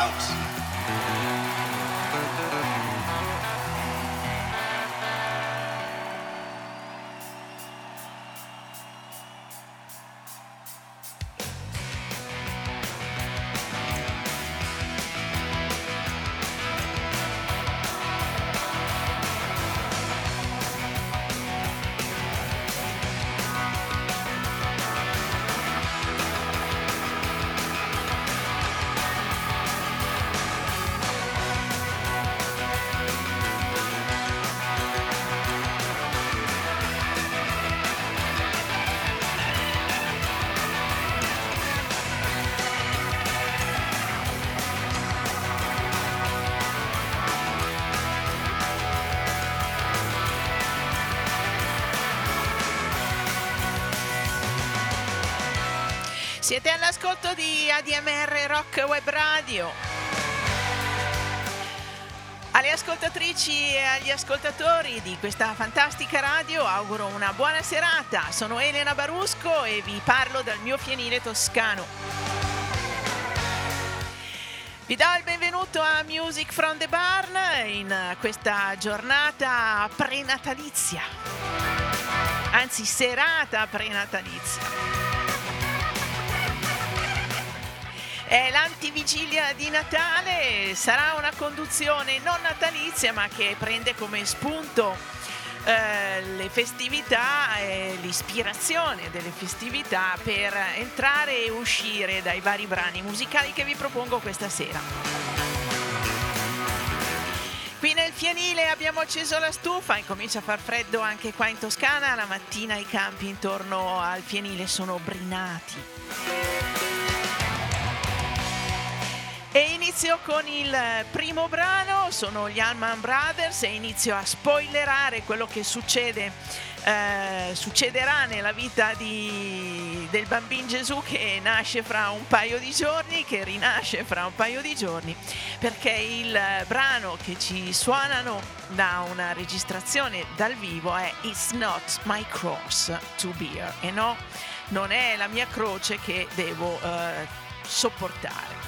Strokes. Siete all'ascolto di ADMR Rock Web Radio. Alle ascoltatrici e agli ascoltatori di questa fantastica radio auguro una buona serata. Sono Elena Barusco e vi parlo dal mio fienile toscano. Vi do il benvenuto a Music from the Barn in questa giornata prenatalizia, anzi serata prenatalizia. È l'antivigilia di Natale, sarà una conduzione non natalizia ma che prende come spunto le festività e l'ispirazione delle festività per entrare e uscire dai vari brani musicali che vi propongo questa sera. Qui nel fienile abbiamo acceso la stufa e comincia a far freddo anche qua in Toscana, la mattina i campi intorno al fienile sono brinati. E inizio con il primo brano, sono gli Allman Brothers e inizio a spoilerare quello che succederà nella vita del bambino Gesù che nasce fra un paio di giorni, che rinasce fra un paio di giorni, perché il brano che ci suonano da una registrazione dal vivo è It's Not My Cross to Bear, e no, non è la mia croce che devo sopportare.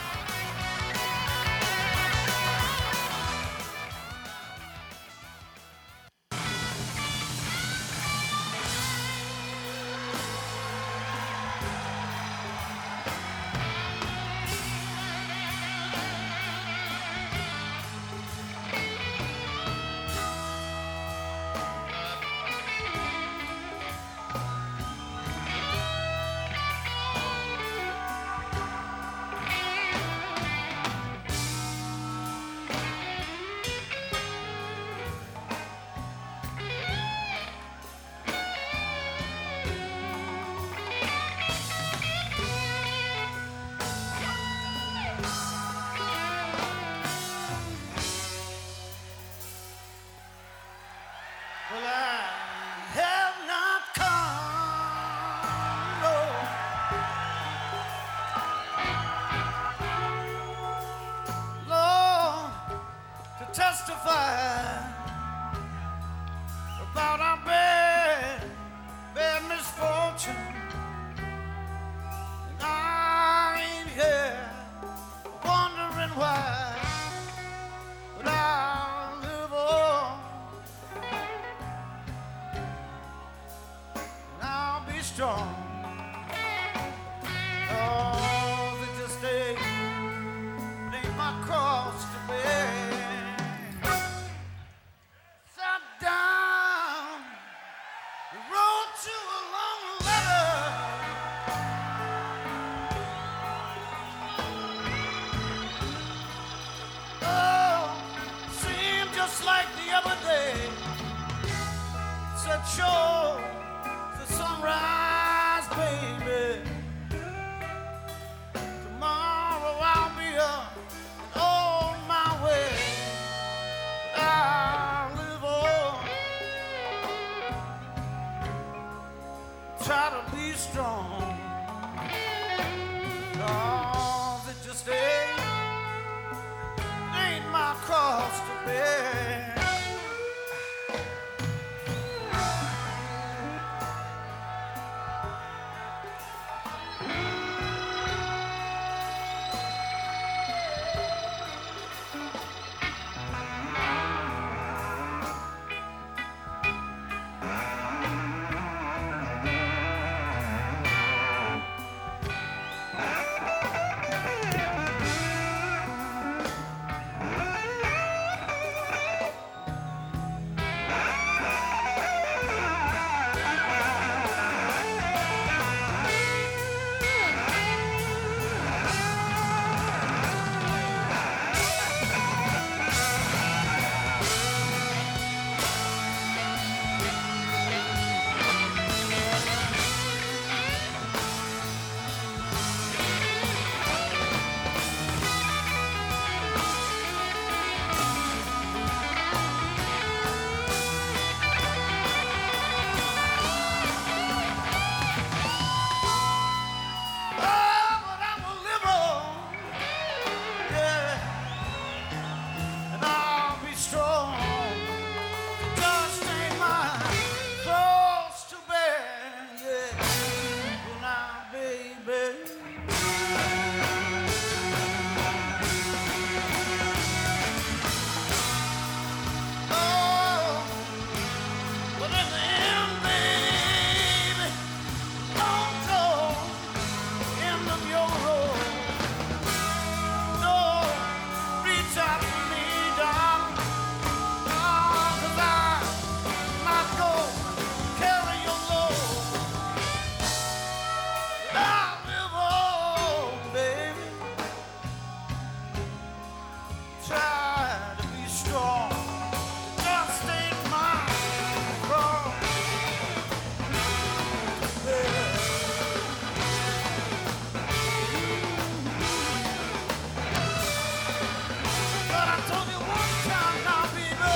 But I told you one time now, baby.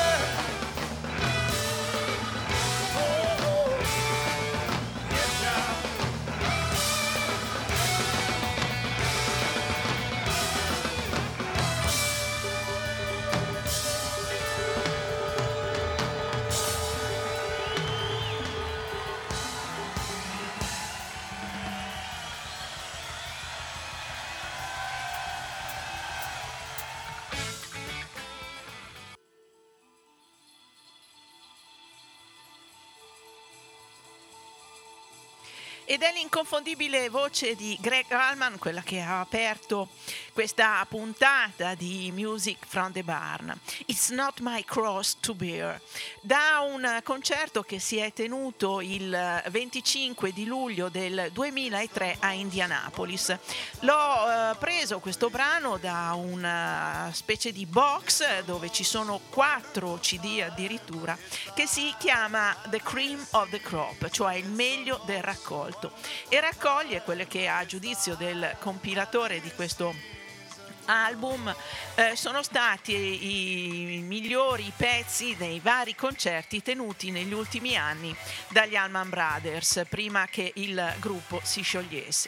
Oh, yes, child. Ed è l'inconfondibile voce di Greg Allman, quella che ha aperto questa puntata di Music from the Barn. It's not my cross to bear. Da un concerto che si è tenuto il 25 di luglio del 2003 a Indianapolis. L'ho preso questo brano da una specie di box dove ci sono 4 CD addirittura, che si chiama The Cream of the Crop, cioè il meglio del raccolto, e raccoglie quelle che a giudizio del compilatore di questo album sono stati i migliori pezzi dei vari concerti tenuti negli ultimi anni dagli Allman Brothers, prima che il gruppo si sciogliesse.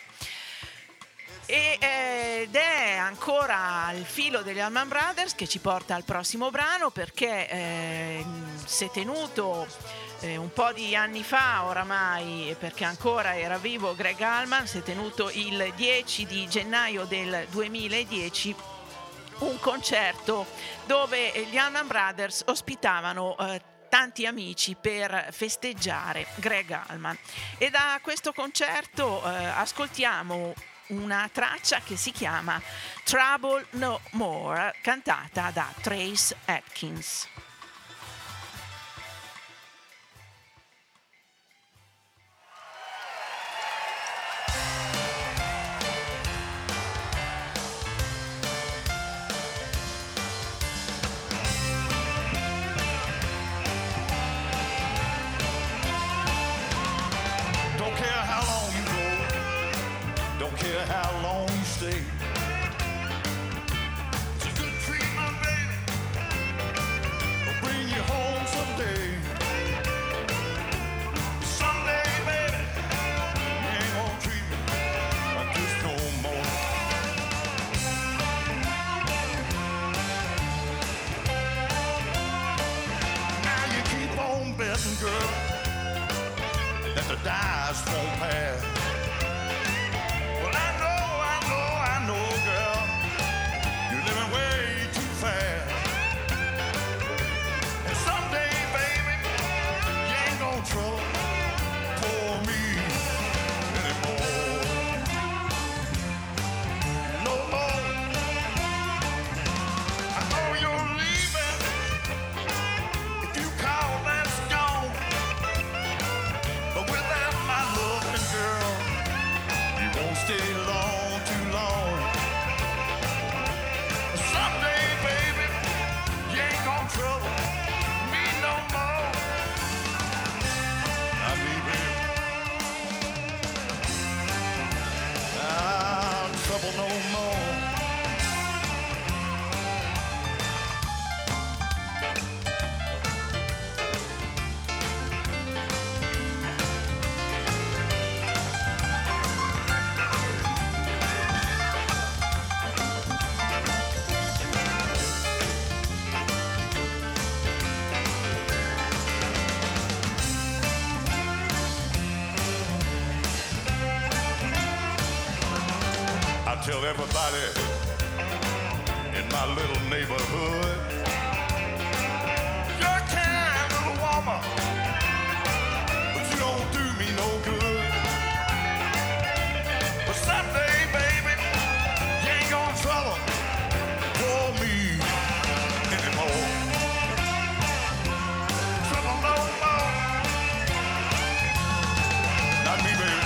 Ed è ancora al filo degli Allman Brothers che ci porta al prossimo brano, perché si è tenuto un po' di anni fa oramai, perché ancora era vivo Greg Allman. Si è tenuto il 10 di gennaio del 2010 un concerto dove gli Allman Brothers ospitavano tanti amici per festeggiare Greg Allman, e da questo concerto ascoltiamo una traccia che si chiama Trouble No More, cantata da Trace Atkins. How long you stay? It's a good treatment, baby. I'll bring you home someday. Someday, baby, you ain't gonna treat me like this no more. Now you keep on betting, girl, that the dice won't pass. Tell everybody in my little neighborhood, you're a kind little woman, but you don't do me no good. But someday, baby, you ain't gonna trouble for me anymore. Trouble no more. Not me, baby.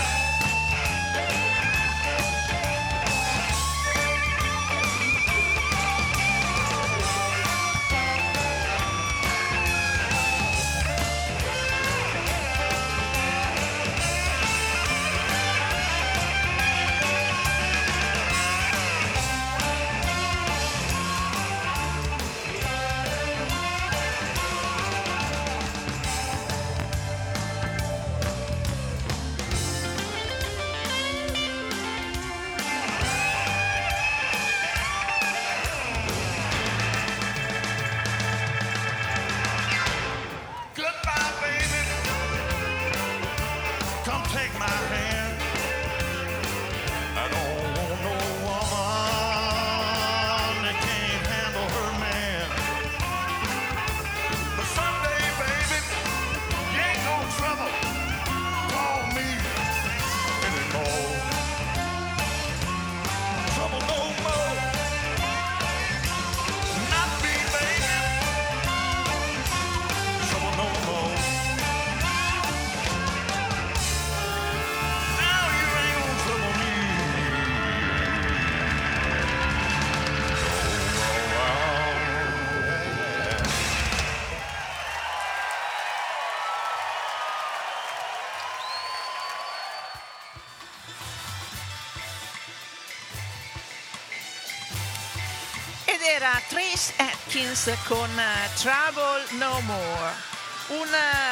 era Trace Atkins con Trouble No More, un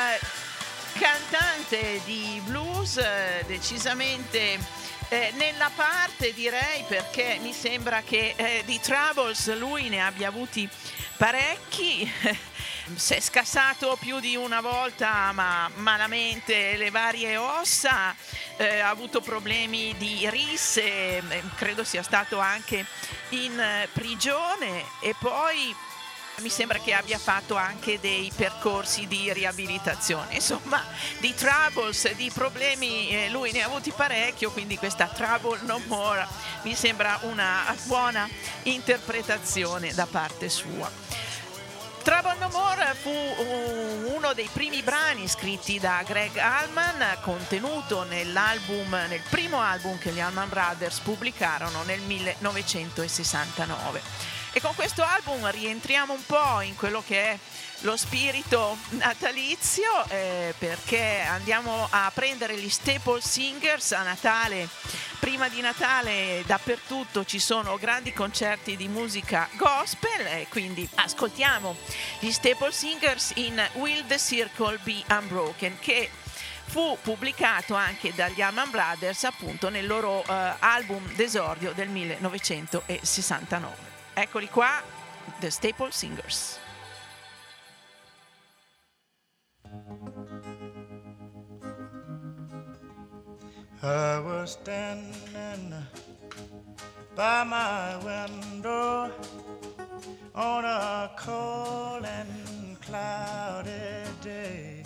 cantante di blues decisamente nella parte, direi, perché mi sembra che di troubles lui ne abbia avuti parecchi. Si è scassato più di una volta, ma malamente, le varie ossa, ha avuto problemi di risse, credo sia stato anche in prigione, e poi mi sembra che abbia fatto anche dei percorsi di riabilitazione. Insomma, di troubles, di problemi, lui ne ha avuti parecchio, quindi questa Trouble No More mi sembra una buona interpretazione da parte sua. Trouble No More fu uno dei primi brani scritti da Gregg Allman, contenuto nel primo album che gli Allman Brothers pubblicarono nel 1969. E con questo album rientriamo un po' in quello che è lo spirito natalizio, perché andiamo a prendere gli Staple Singers a Natale. Prima di Natale dappertutto ci sono grandi concerti di musica gospel, e quindi ascoltiamo gli Staple Singers in Will the Circle Be Unbroken, che fu pubblicato anche dagli Allman Brothers appunto nel loro album d'esordio del 1969. Eccoli qua, The Staple Singers. I was standing by my window on a cold and cloudy day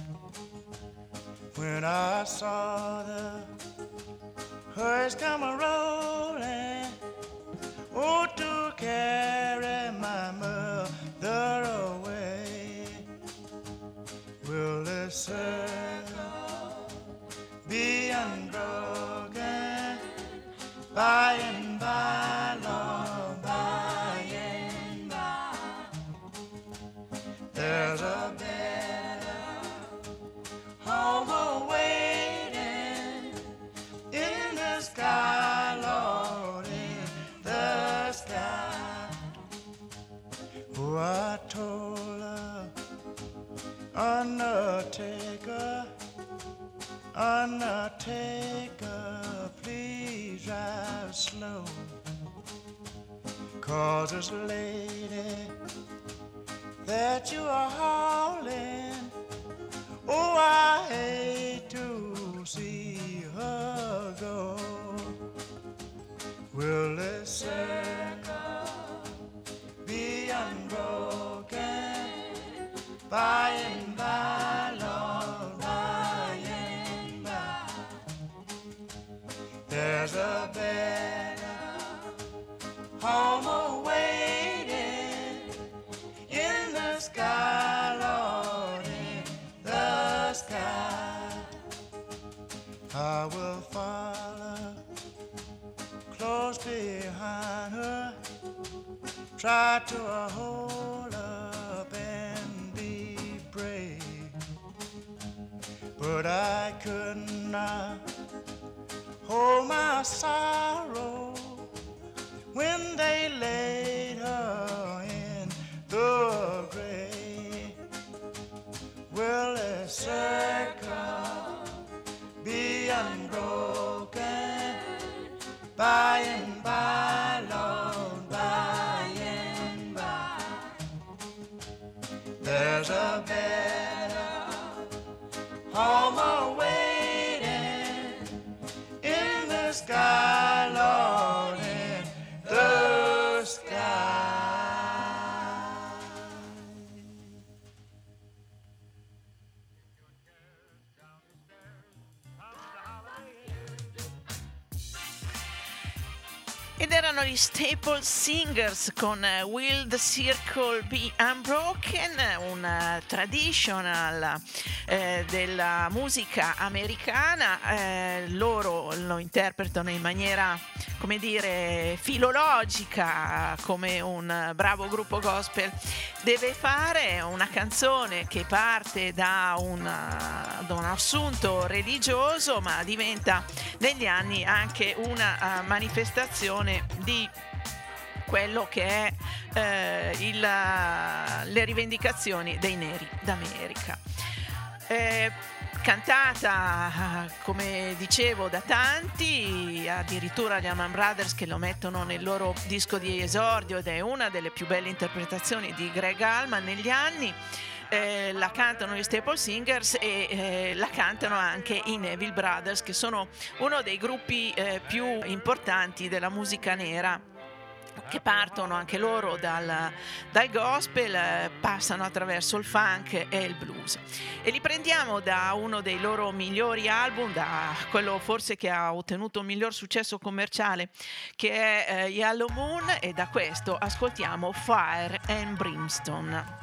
when I saw the hearse come a-rolling, oh, to carry my mother away. Will this circle be unbroken by and by, Lord, by and by? There's a better home awaiting in the sky, Lord, in the sky. Oh, I told her, Undertaker, please drive slow, 'cause this lady that you are hauling, oh, I hate to see her go. Will this circle be unbroken by and by, Lord, by and by? There's a better home awaiting in the sky, Lord, in the sky. I will follow close behind her, try to hold up and be brave, but I could not hold my sorrow when they laid her in the grave. Will a circle be unbroken by and by, Lord, by and by? There's a better home awaiting in the sky, Lord, in the sky. Ed erano gli Staple Singers con Will the Circle Be Unbroken, un traditional della musica americana. Loro lo interpretano in maniera, come dire, filologica, come un bravo gruppo gospel deve fare. Una canzone che parte da un assunto religioso, ma diventa negli anni anche una manifestazione di quello che è le rivendicazioni dei neri d'America. Cantata, come dicevo, da tanti, addirittura gli Allman Brothers che lo mettono nel loro disco di esordio, ed è una delle più belle interpretazioni di Greg Allman negli anni. La cantano gli Staple Singers e la cantano anche i Neville Brothers, che sono uno dei gruppi più importanti della musica nera, che partono anche loro dal gospel, passano attraverso il funk e il blues, e li prendiamo da uno dei loro migliori album, da quello forse che ha ottenuto il miglior successo commerciale, che è Yellow Moon, e da questo ascoltiamo Fire and Brimstone.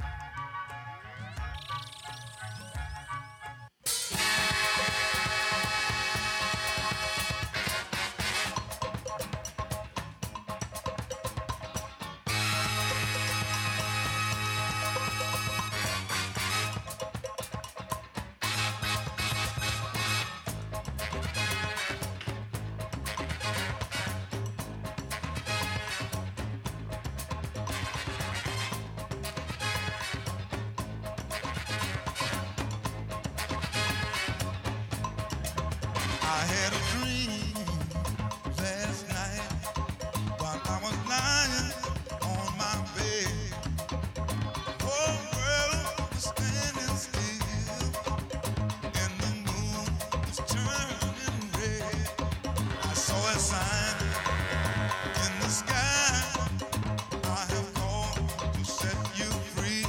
I had a dream last night while I was lying on my bed. Whole world was standing still, and the moon was turning red. I saw a sign in the sky. I have called to set you free.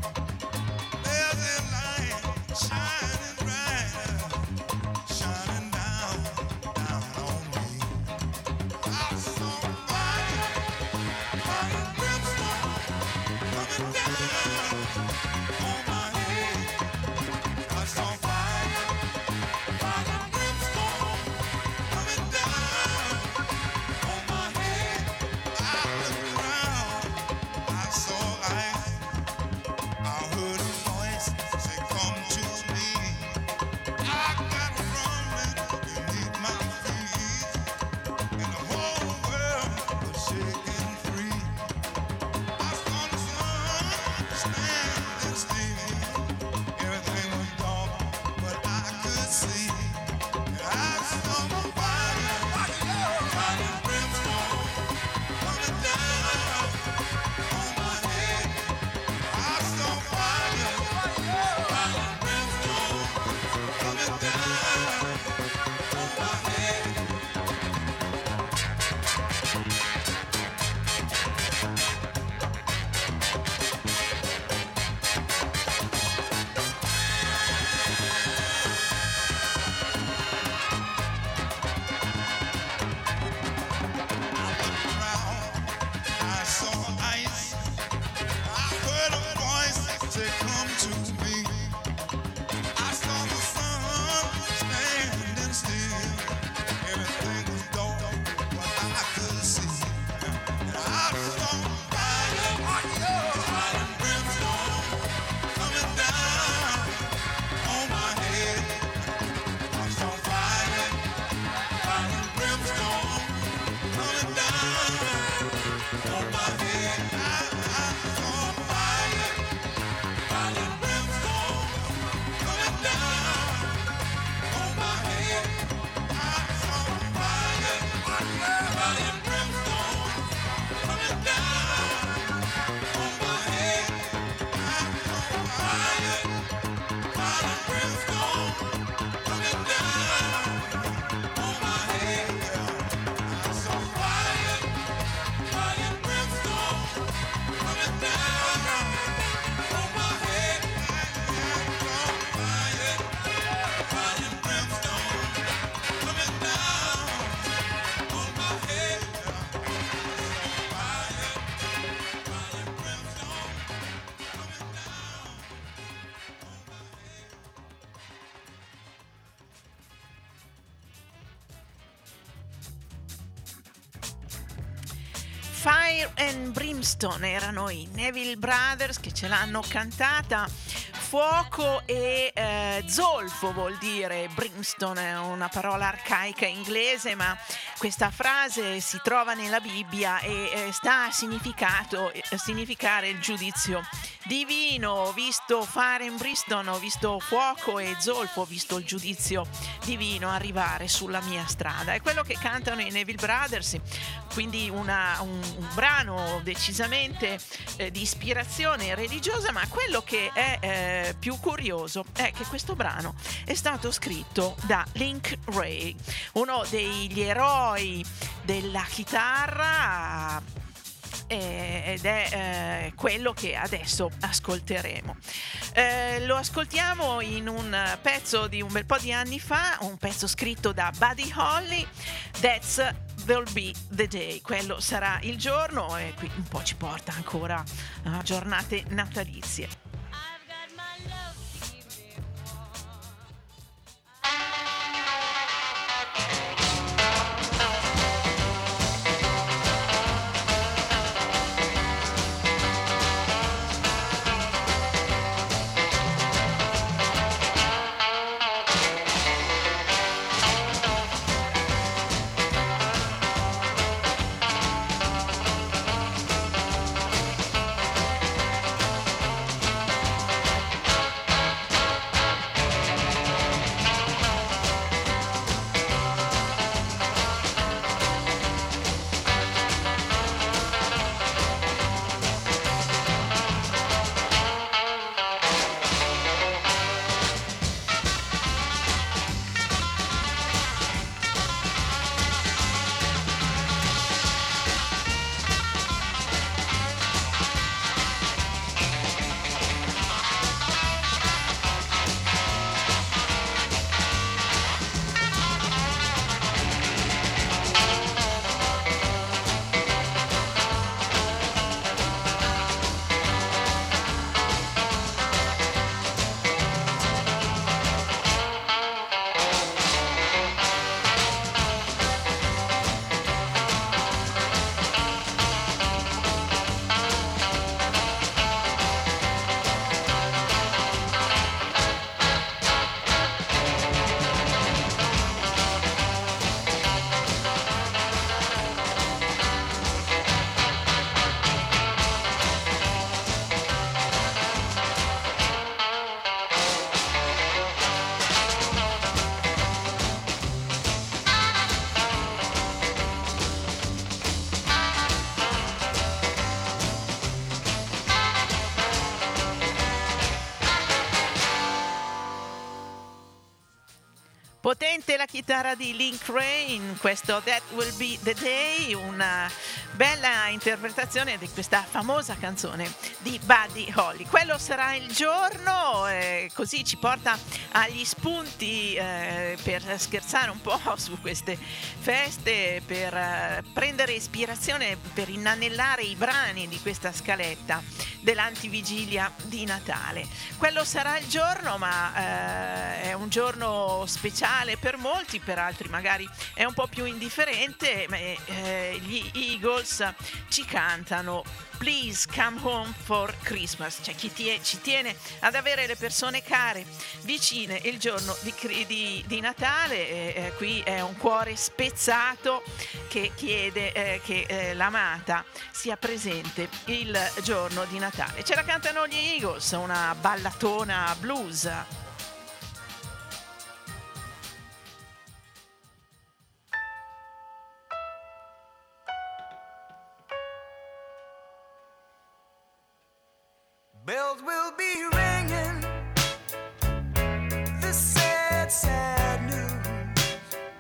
There's a light shining bright, shining down on me. I saw fire, fire and brimstone coming down on my head. I saw fire, fire and brimstone coming down on my head. I looked around, I saw light. I heard a voice say, "Come to me." I got running beneath my feet, and the whole world was shaking free. I saw the sun standing still. Everything was dark, but I could see. And I saw fire, fire and brimstone coming down on my head. I saw fire, fire and brimstone coming down on my head. I saw ice. I heard a voice say, "Come to me." I saw the sun standing still. Everything was dark, but I could see. And I saw fire, fire and brimstone coming down on my head. I saw fire, fire and brimstone coming down on my head. I saw fire, fire and brimstone coming down on my head. I saw fire, fire and brimstone coming down on my head. I saw fire, fire and brimstone coming down on my head. I saw fire, fire and brimstone coming down on my head. I saw fire, fire and brimstone coming down on my head. Fire, fire and brimstone coming down on my head. Fire and Brimstone erano i Neville Brothers che ce l'hanno cantata. Fuoco e zolfo vuol dire, brimstone è una parola arcaica inglese, ma questa frase si trova nella Bibbia e sta a significare il giudizio divino. Ho visto fare in Bristol, ho visto fuoco e zolfo, ho visto il giudizio divino arrivare sulla mia strada. È quello che cantano i Neville Brothers, quindi un brano decisamente di ispirazione religiosa, ma quello che è più curioso è che questo brano è stato scritto da Link Wray, uno degli eroi della chitarra, ed è quello che adesso ascolteremo. Lo ascoltiamo in un pezzo di un bel po' di anni fa, un pezzo scritto da Buddy Holly, That's Will Be the Day, quello sarà il giorno, e qui un po' ci porta ancora a giornate natalizie. Potente la chitarra di Link Wray in questo That Will Be the Day, una bella interpretazione di questa famosa canzone di Buddy Holly. Quello sarà il giorno, così ci porta agli spunti per scherzare un po' su queste feste, per prendere ispirazione, per inanellare i brani di questa scaletta dell'antivigilia di Natale. Quello sarà il giorno, ma è un giorno speciale per molti, per altri magari è un po' più indifferente. Gli Eagles ci cantano Please Come Home for Christmas, cioè chi ci tiene ad avere le persone care vicine il giorno di Natale. Qui è un cuore spezzato che chiede che l'amata sia presente il giorno di Natale. Ce la cantano gli Eagles, una ballatona blues. Bells will be ringing, this sad, sad news.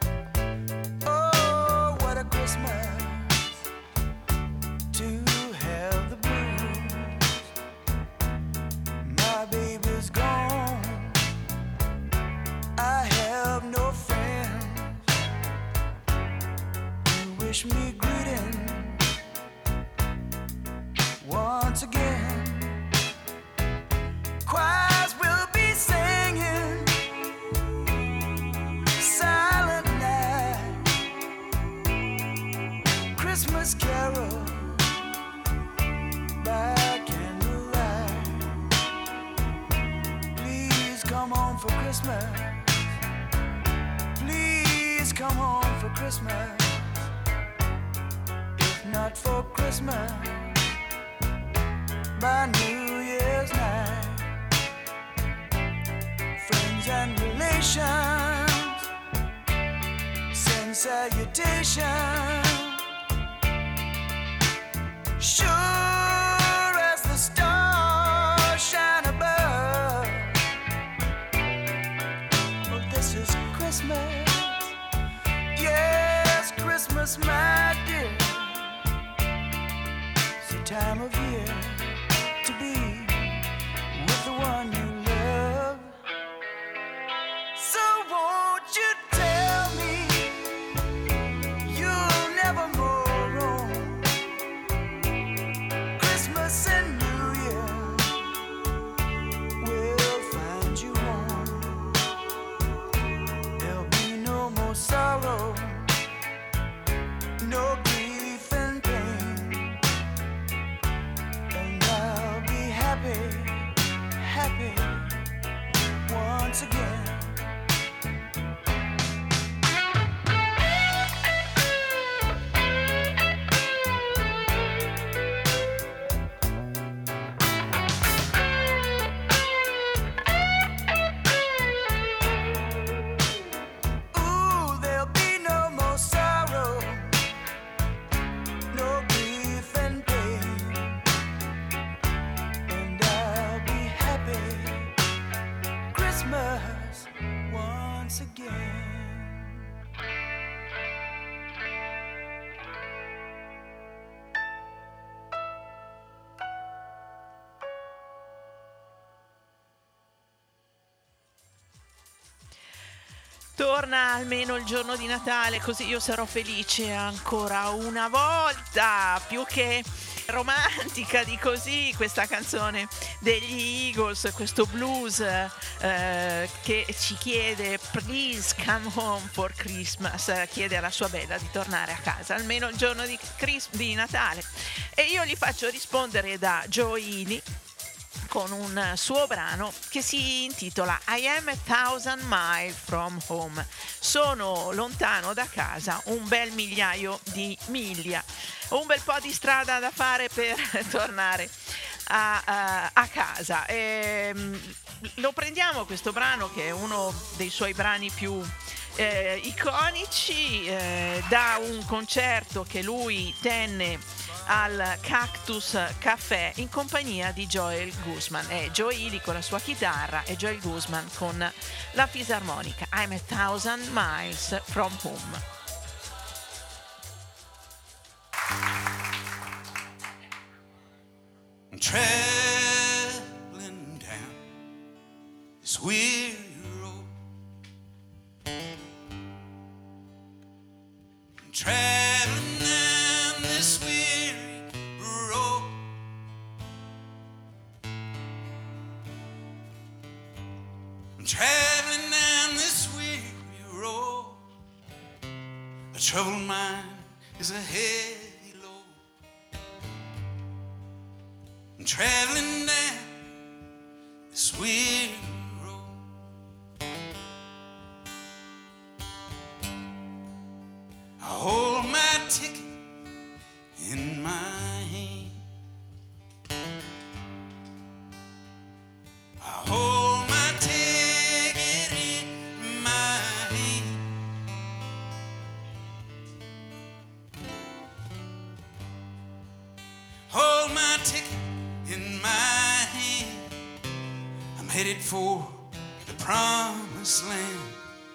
Oh, what a Christmas to have the blues. My baby's gone, I have no friends to wish me greeting once again. Choirs will be singing Silent Night, Christmas carol by candlelight. Please come home for Christmas. Please come home for Christmas. not for Christmas, by New Year's night. Friends and relations send salutations. Sure as the stars shine above. Well, this is Christmas. Yes, Christmas, my dear. It's the time of year to be with the one you love. So won't you tell me you'll never more roam Christmas and New Year will find you home. There'll be no more sorrow, no grief and pain, and I'll be happy, happy once again. Ooh, there'll be no more sorrow, no grief and pain, and I'll be happy Christmas once again. Torna almeno il giorno di Natale, così io sarò felice ancora una volta. Più che romantica di così questa canzone degli Eagles, questo blues che ci chiede please come home for Christmas, chiede alla sua bella di tornare a casa almeno il giorno di Natale, e io gli faccio rispondere da Joe Ely con un suo brano che si intitola I am a thousand miles from home. Sono lontano da casa un bel migliaio di miglia, un bel po' di strada da fare per tornare a casa. Lo prendiamo questo brano, che è uno dei suoi brani più iconici, da un concerto che lui tenne al Cactus Café in compagnia di Joel Guzman. È Joe Ely con la sua chitarra e Joel Guzman con la fisarmonica. I'm a thousand miles from home. I'm traveling down this weary road. I'm traveling down this weary road. I'm traveling down this weary road. A troubled mind is a heavy load. I'm traveling down this weary road. I hold my ticket in my hand. I hold my ticket in my hand. Hold my ticket in my hand. I'm headed for the promised land.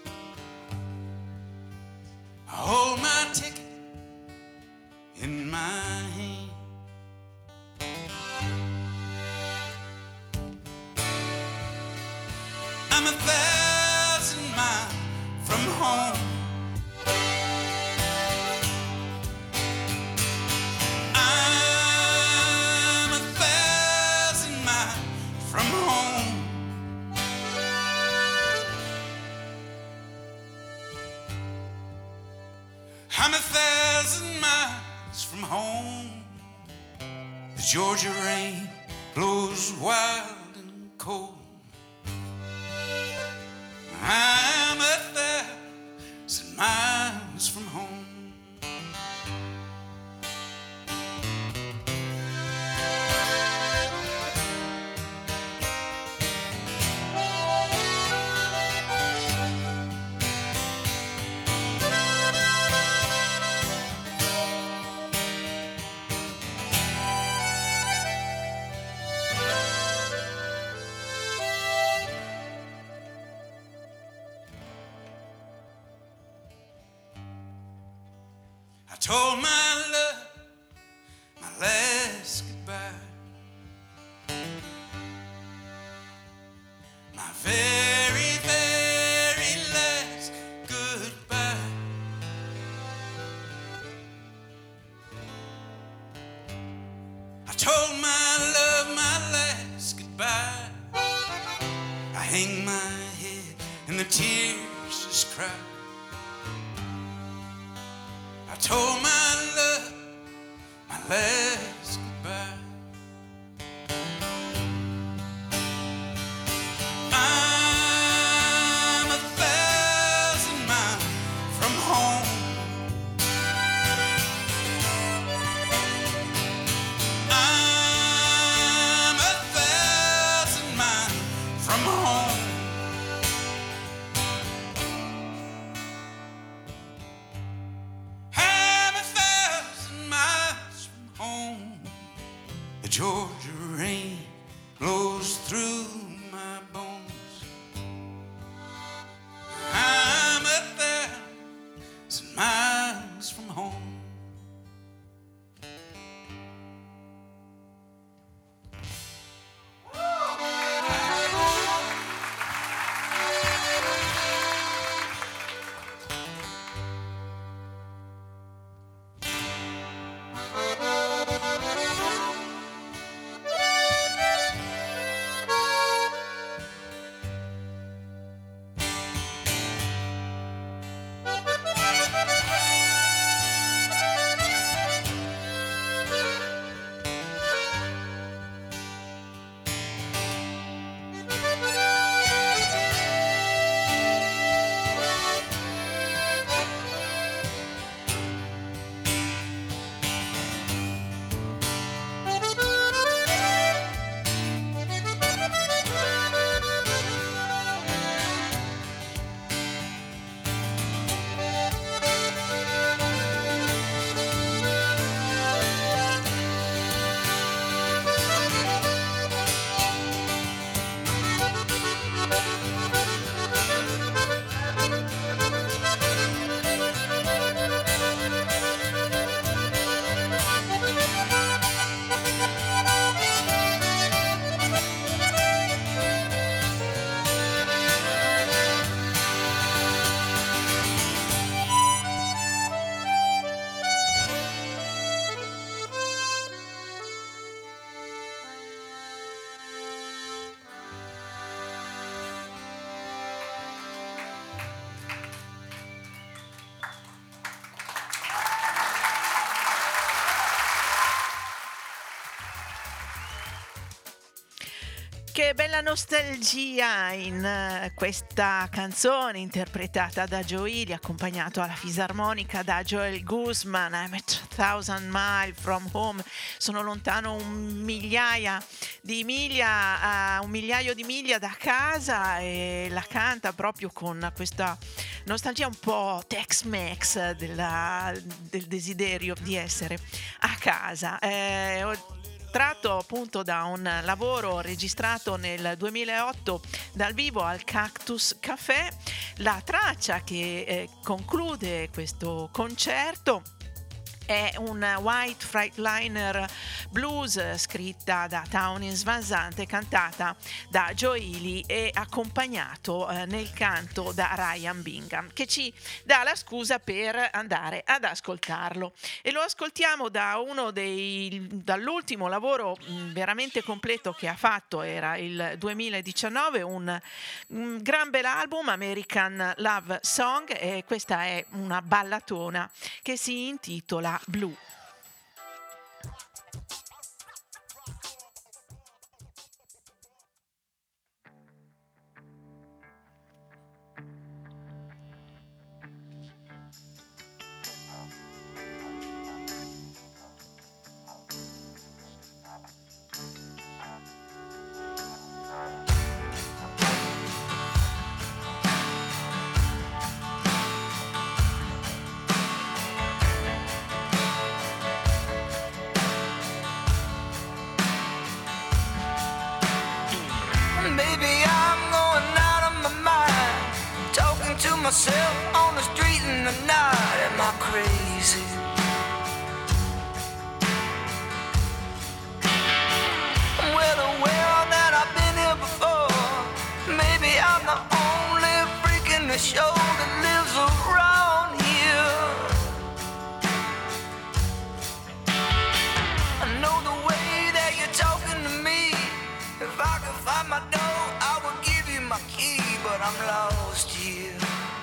I hold my ticket in my hand. I'm 1,000 miles from home. I'm 1,000 miles from home. I'm 1,000 miles from home. The Georgia rain blows wild and cold. I'm 1,000 miles from home. told my love my last goodbye. My very, very last goodbye. I told my love my last goodbye. I hang my head and the tears just cry. I told my love my last goodbye. I'm 1,000 miles from home. I'm 1,000 miles from home. I'm 1,000 miles from home. The Georgia rain blows through my bones. I'm 1,000 miles from home. Che bella nostalgia in questa canzone interpretata da Joe Ely, accompagnato alla fisarmonica da Joel Guzman. I'm 1,000 miles from home. Sono lontano un migliaio di miglia da casa, e la canta proprio con questa nostalgia un po' Tex-Mex del desiderio di essere a casa. Tratto appunto da un lavoro registrato nel 2008 dal vivo al Cactus Café. La traccia che conclude questo concerto è un White Freightliner Blues scritta da Townes Van Zandt, cantata da Joe Ely e accompagnato nel canto da Ryan Bingham, che ci dà la scusa per andare ad ascoltarlo. E lo ascoltiamo dall'ultimo lavoro veramente completo che ha fatto, era il 2019, un gran bel album, American Love Song, e questa è una ballatona che si intitola Blue. Myself on the street in the night. Am I crazy? only show that lives around here. I know the way that you're talking to me. If I could find my door, I would give you my key, but I'm lost here.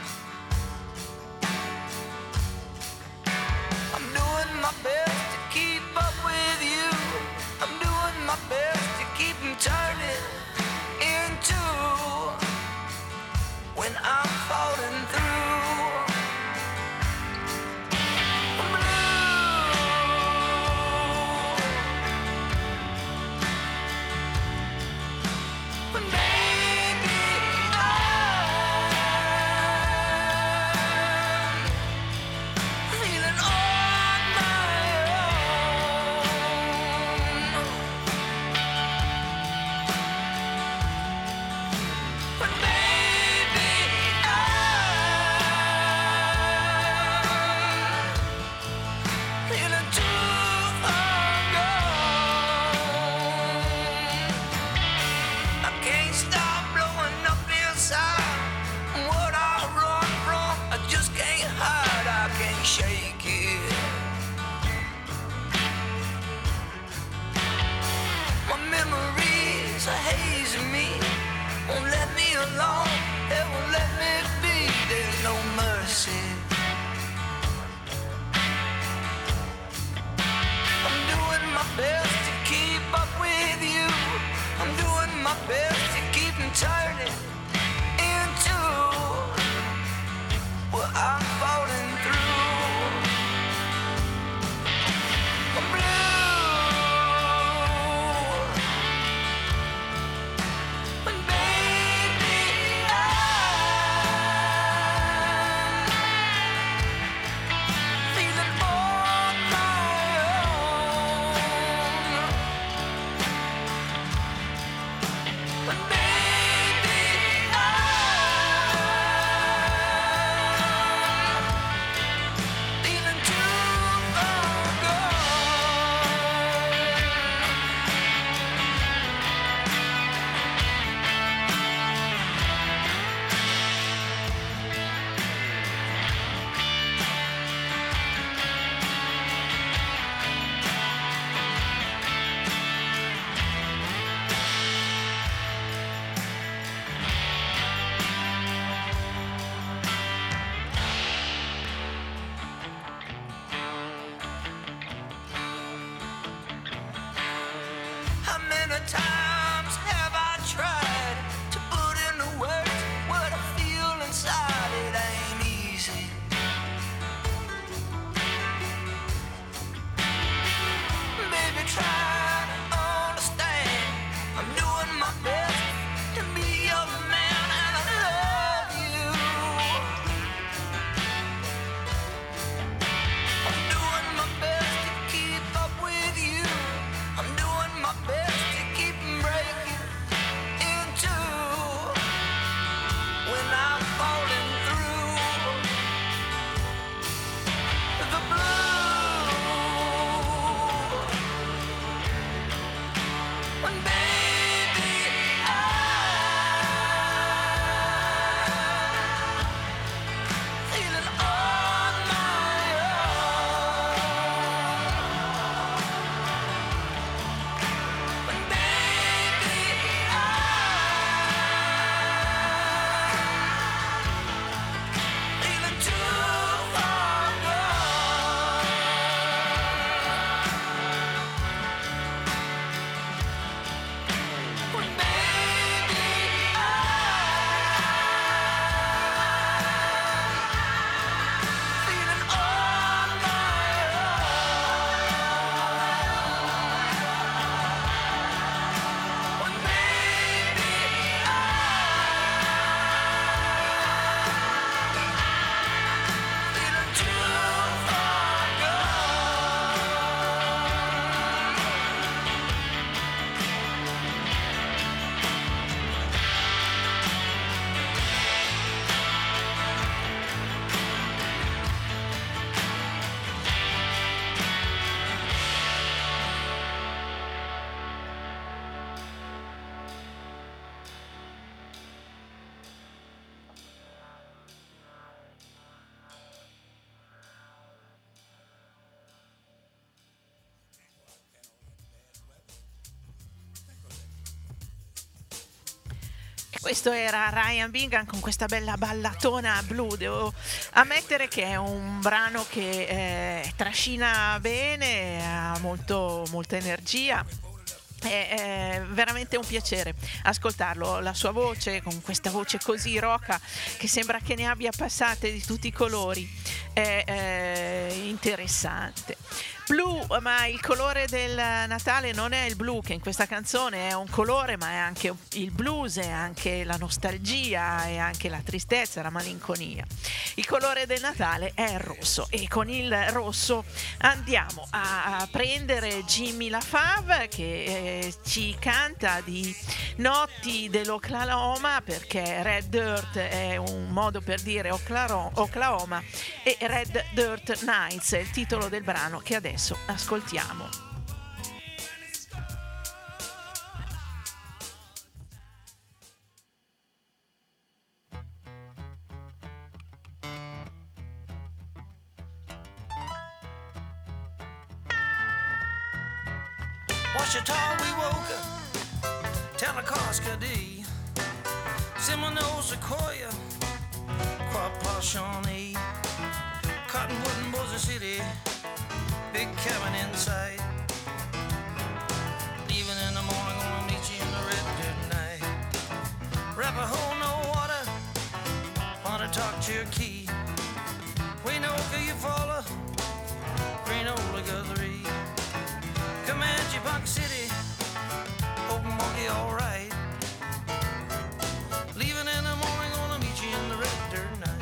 I'm doing my best to keep up with you. I'm doing my best to keep them turning into when I'm falling through. I'm blue. But maybe I'm feeling on my own. But maybe I'm feeling too far gone. I can't stop blowing up inside. What I run from, I just can't hide. I can't shake it. My memories are hazing me, won't let me alone. It won't let me be. There's no mercy. I'm doing my best to keep up with you. I'm doing my best to keep them turning into what I'm falling through. I'm blue. But baby, I'm Questo era Ryan Bingham con questa bella ballatona blu. Devo ammettere che è un brano che trascina bene, ha molta energia. È veramente un piacere ascoltarlo, la sua voce, con questa voce così roca che sembra che ne abbia passate di tutti i colori, è interessante. Blu, ma il colore del Natale non è il blu, che in questa canzone è un colore, ma è anche il blues, è anche la nostalgia, è anche la tristezza, la malinconia. Il colore del Natale è il rosso, e con il rosso andiamo a prendere Jimmy LaFave, che ci canta di notti dell'Oklahoma, perché Red Dirt è un modo per dire Oklahoma, e Red Dirt Nights è il titolo del brano che adesso ascoltiamo. Washita, we woke up, Talakoska D, Seminole, Sequoia, Quapaw, Shawnee, Cottonwood and Boise City, big cabin in sight. Leaving in the morning, gonna meet you in the Red Dirt night. Arapahoe, no water, Pontotoc, Cherokee, Waynoka, Eufaula, Greenola, Guthrie, Comanche, Buck City, Open Monkey, alright. Leaving in the morning, gonna meet you in the Red Dirt night.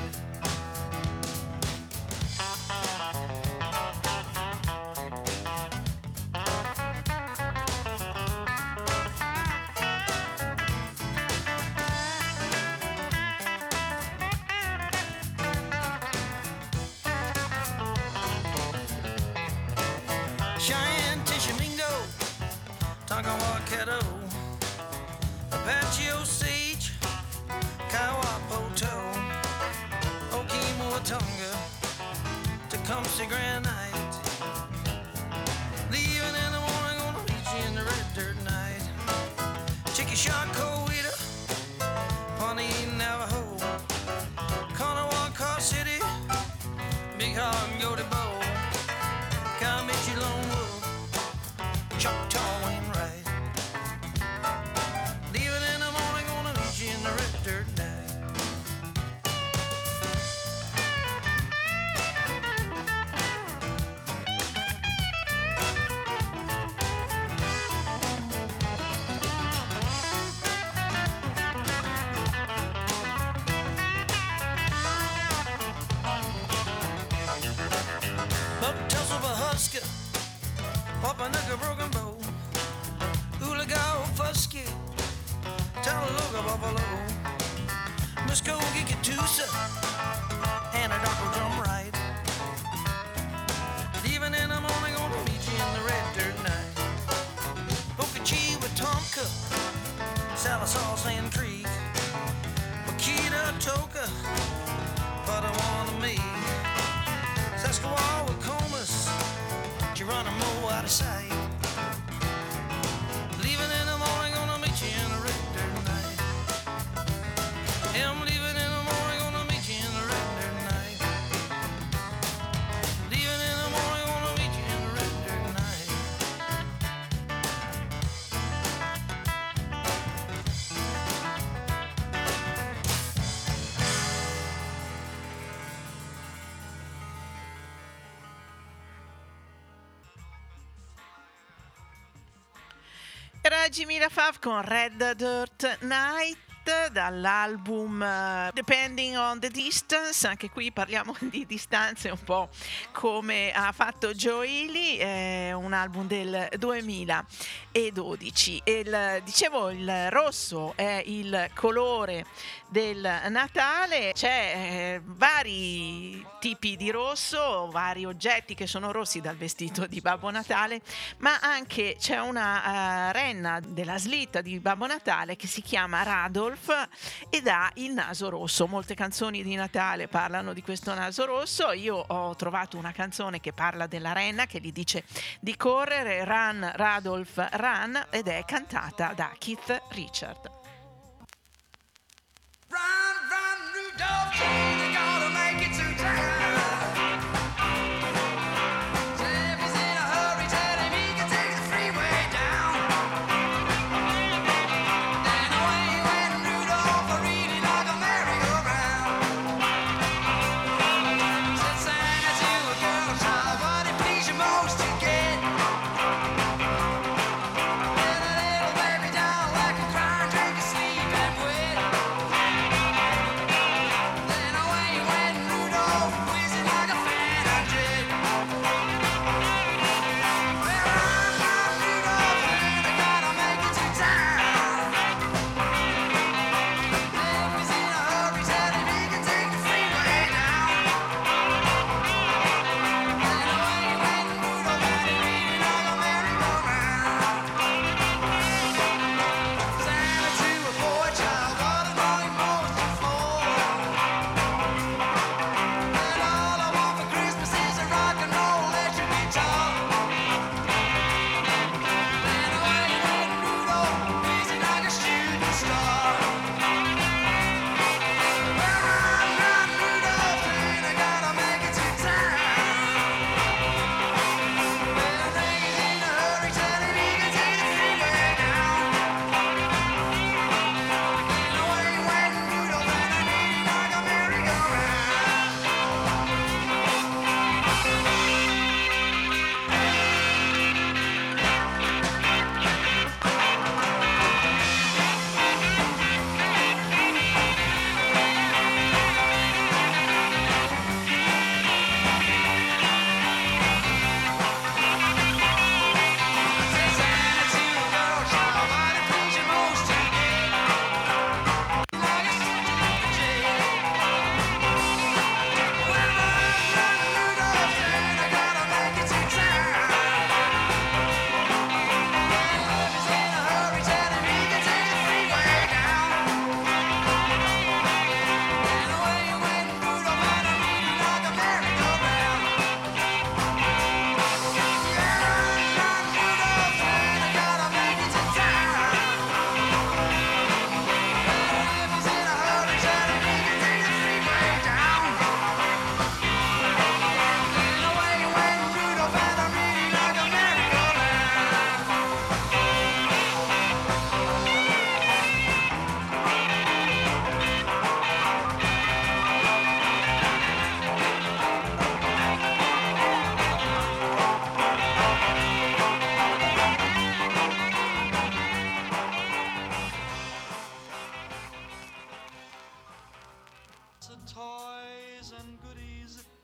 Cheyenne, Tishomingo, Tonkawa, Caddo, Apache, Osage, Kiowa, Poto, Okemo, Watonga, Tecumseh, Grand Night. Leaving in the morning, gonna meet you in the Red Dirt night. Chickasha, Coweta, Pawnee, Navajo, Kanawha, Car City, Big Hog, and Goaty Bow, Comanche, Lone Wolf, Choctaw, Wainwright. Leaving in the morning, gonna meet you in the Red Dirt night. Buck Tussle, Husker, Wapanucka, Broken Bow, Oologah, Fusky, Talaloga, Buffalo, Muskogee, Catoosa, Anadarko, Drum Right. Leaving in the morning, gonna meet you in the Red Dirt night. Okachee, Wetumpka, Salisaw, Sand Creek, Wakita, Toka, Potawatomi, Saskatchewan, Comas, Geronimo, out of sight. Leaving in the morning, gonna meet you in the Red Dirt night. I'm leaving in the morning, gonna meet you in the Red Dirt night. Leaving in the morning, gonna meet you in the Red Dirt night. Era Jimmy LaFave con Red Dirt Night dall'album Depending on the Distance. Anche qui parliamo di distanze, un po' come ha fatto Joe Ely, un album del 2012. Dicevo, il rosso è il colore del Natale. C'è vari tipi di rosso, vari oggetti che sono rossi, dal vestito di Babbo Natale, ma anche c'è una renna della slitta di Babbo Natale che si chiama Radolf ed ha il naso rosso. Molte canzoni di Natale parlano di questo naso rosso. Io ho trovato una canzone che parla della renna, che gli dice di correre, Run Radolf Run, ed è cantata da Keith Richard.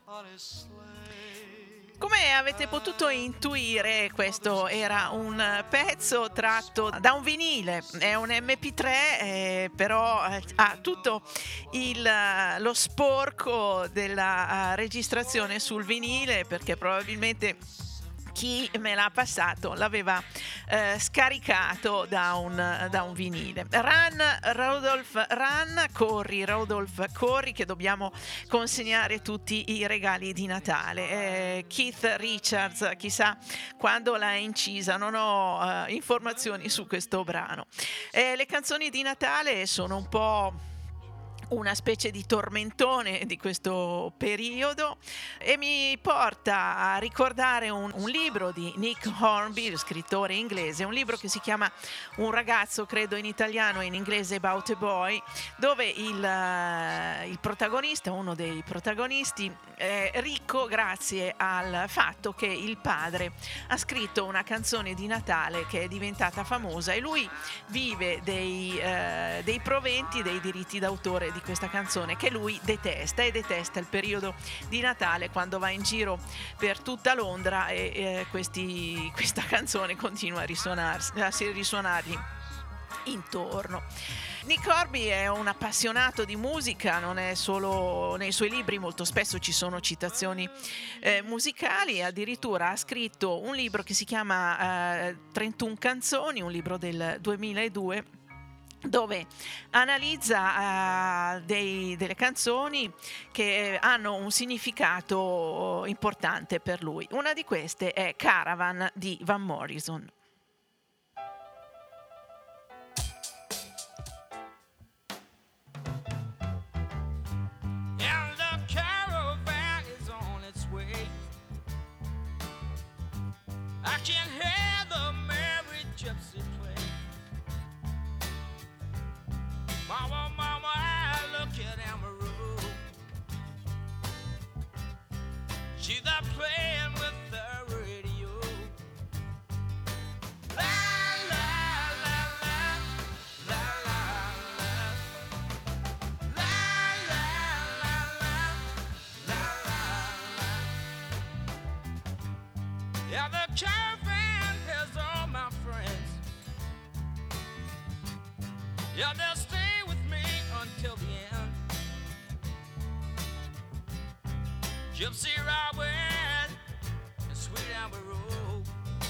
on his sleigh. Come avete potuto intuire, questo era un pezzo tratto da un vinile, è un MP3, però ha tutto lo sporco della registrazione sul vinile, perché probabilmente chi me l'ha passato l'aveva scaricato da un vinile. Run Rudolph Run, corri Rudolph corri, che dobbiamo consegnare tutti i regali di Natale. Keith Richards, chissà quando l'ha incisa, non ho informazioni su questo brano. Le canzoni di Natale sono un po' una specie di tormentone di questo periodo e mi porta a ricordare un libro di Nick Hornby, scrittore inglese, un libro che si chiama Un ragazzo, credo in italiano e in inglese About a Boy, dove il protagonista, uno dei protagonisti, è ricco grazie al fatto che il padre ha scritto una canzone di Natale che è diventata famosa e lui vive dei proventi, dei diritti d'autore di questa canzone che lui detesta, e detesta il periodo di Natale, quando va in giro per tutta Londra e questa canzone continua a risuonargli intorno. Nick Hornby è un appassionato di musica, non è solo nei suoi libri, molto spesso ci sono citazioni musicali, addirittura ha scritto un libro che si chiama 31 canzoni, un libro del 2002, dove analizza delle canzoni che hanno un significato importante per lui. Una di queste è Caravan di Van Morrison. And the caravan is on its way. I can hear the merry gypsy play. Mama, mama, I look at Amaru. She's there playing with the radio. La la la la, la la la, la la la la, la la la. Yeah, the caravan has all my friends. Yeah, they'll stay with me until the end. Gypsy Robin and Sweet Amaru,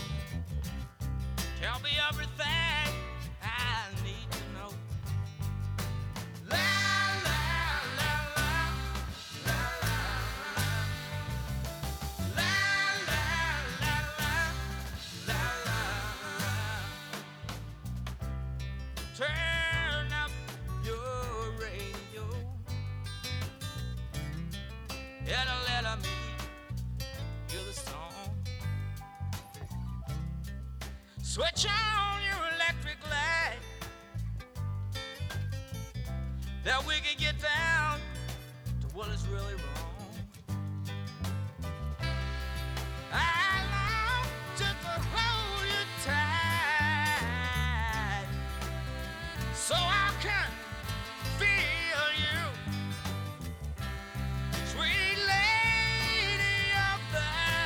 tell me everything I need to know. La la la la, la la la, la la la la, la la la. Turn up your radio. It'll let me hear the song. Switch on your electric light, that we can get down to what is really wrong. I long just to hold you tight, so I can feel you, sweet lady of the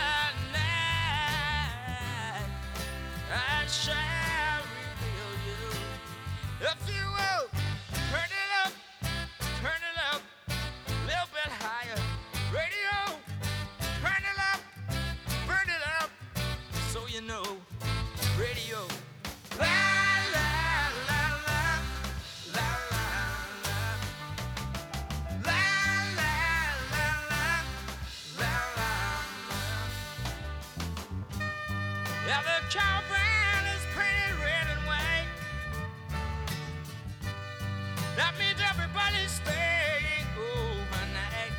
night. I shall reveal you. If you will, turn it up, a little bit higher. Radio, turn it up, burn it up, so you know. Radio. La la la la, la la la, la la la la, la la la. Yeah, the caravan is painted red and white. That means everybody's staying overnight.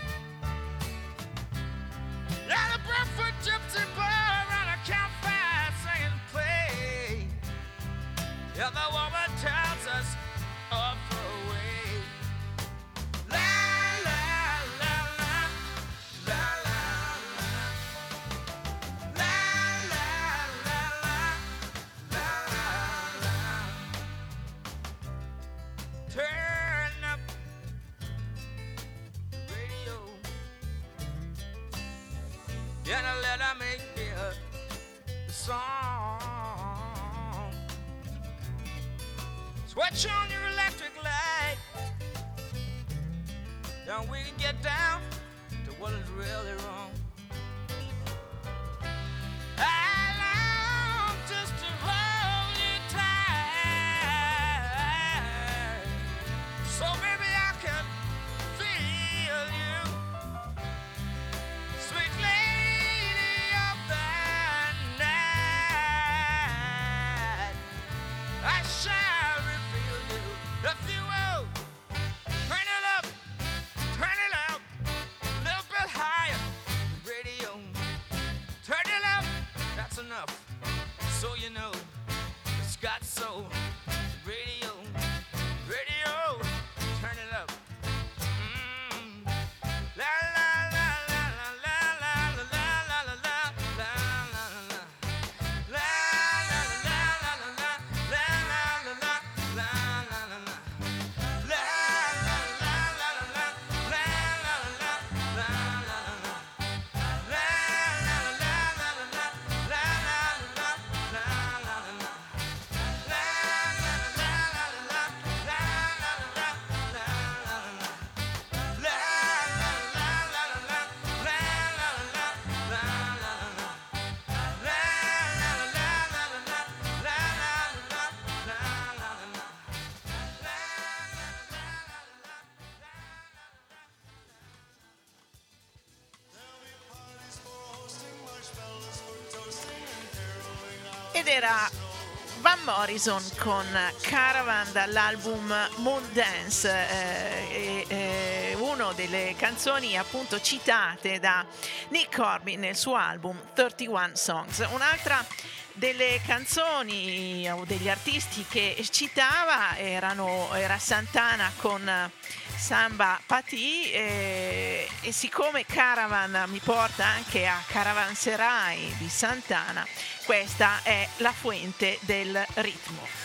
Yeah, the barefoot gypsy boy around a campfire singing play. Yeah, the woman tells us off the way. La la la la, la la la, la la la la, song. Switch on your electric light. Then we can get down to what is really wrong. I long just to hold you tight, so baby I can feel you, sweet lady of the night. I shall reveal you if you will. Turn it up, turn it up, a little bit higher. Radio, turn it up, that's enough. So you know it's got soul. Radio, radio, turn it up. La la la la la la la la la la la la la la. La la la la la la la la la la la la la. La la la la la la la la la la la la. La la la la la la la la la la la. Ed era Van Morrison con Caravan dall'album Moon Dance, una delle canzoni appunto citate da Nick Corbin nel suo album 31 Songs. Un'altra delle canzoni o degli artisti che citava era Santana con Samba Pati, e siccome Caravan mi porta anche a Caravanserai di Santana, questa è la fuente del ritmo.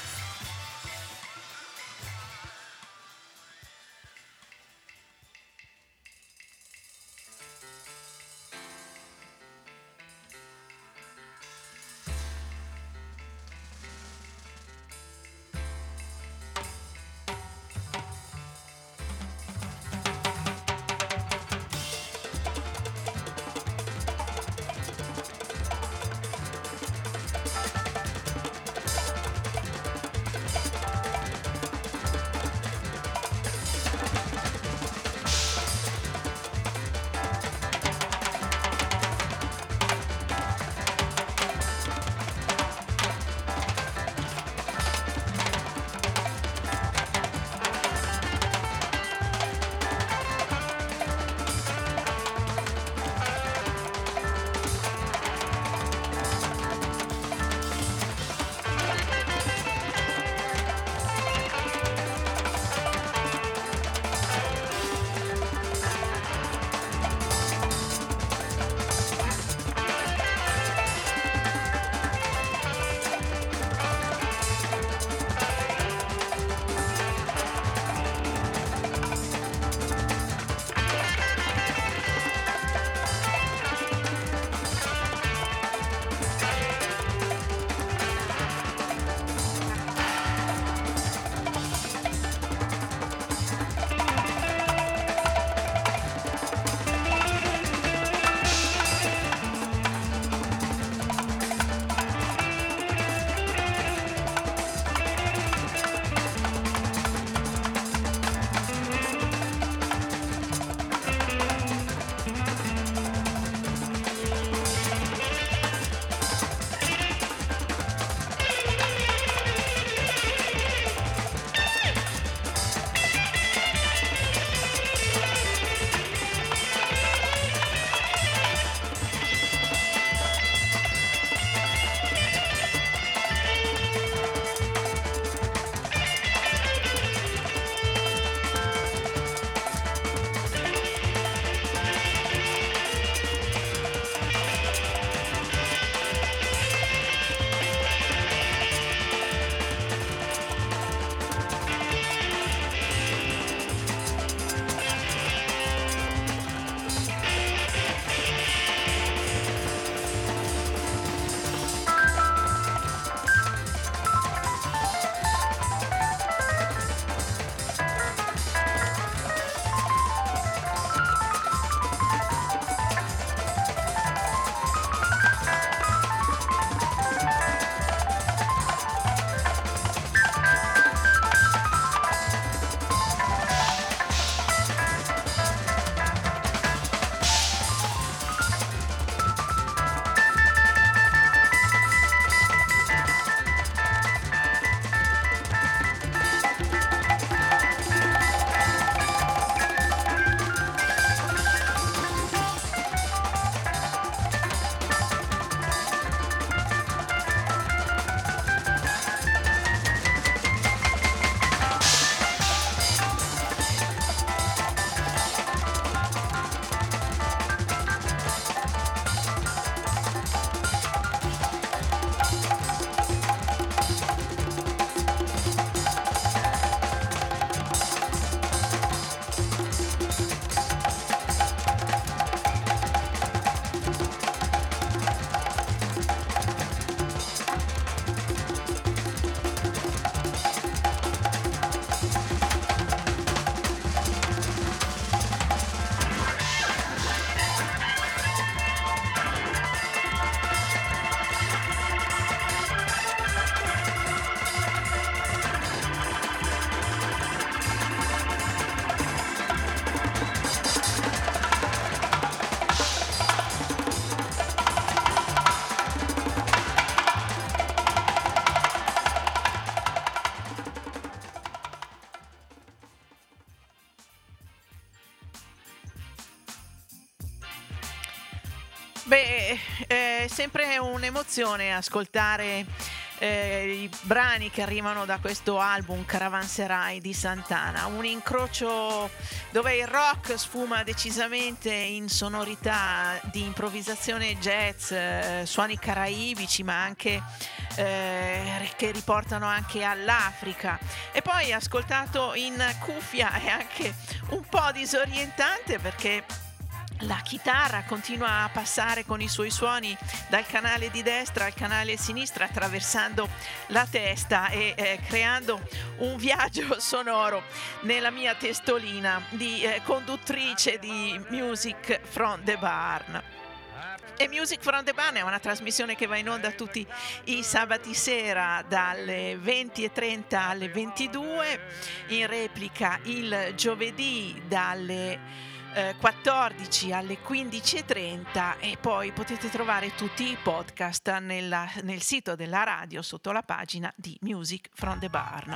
Beh, è sempre un'emozione ascoltare i brani che arrivano da questo album Caravanserai di Santana, un incrocio dove il rock sfuma decisamente in sonorità di improvvisazione jazz, suoni caraibici, ma anche che riportano anche all'Africa. E poi ascoltato in cuffia è anche un po' disorientante, perché la chitarra continua a passare con i suoi suoni dal canale di destra al canale sinistra, attraversando la testa e creando un viaggio sonoro nella mia testolina di conduttrice di Music from the Barn. E Music from the Barn è una trasmissione che va in onda tutti i sabati sera dalle 20:30 alle 22, in replica il giovedì dalle 14 alle 15:30, e poi potete trovare tutti i podcast nel sito della radio sotto la pagina di Music from the Barn.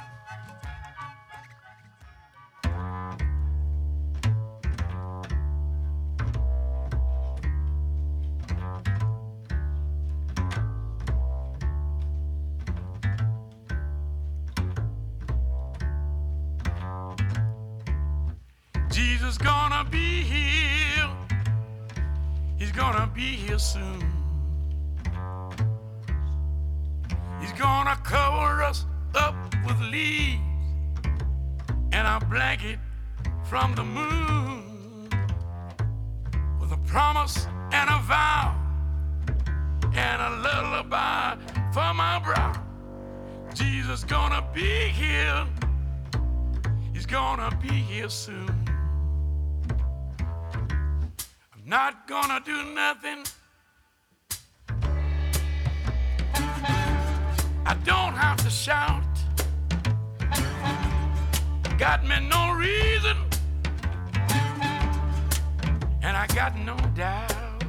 Jesus gonna be here. He's gonna be here soon. He's gonna cover us up with leaves and a blanket from the moon, with a promise and a vow and a lullaby for my brow. Jesus gonna be here. He's gonna be here soon. Not gonna do nothing. I don't have to shout. Got me no reason, and I got no doubt.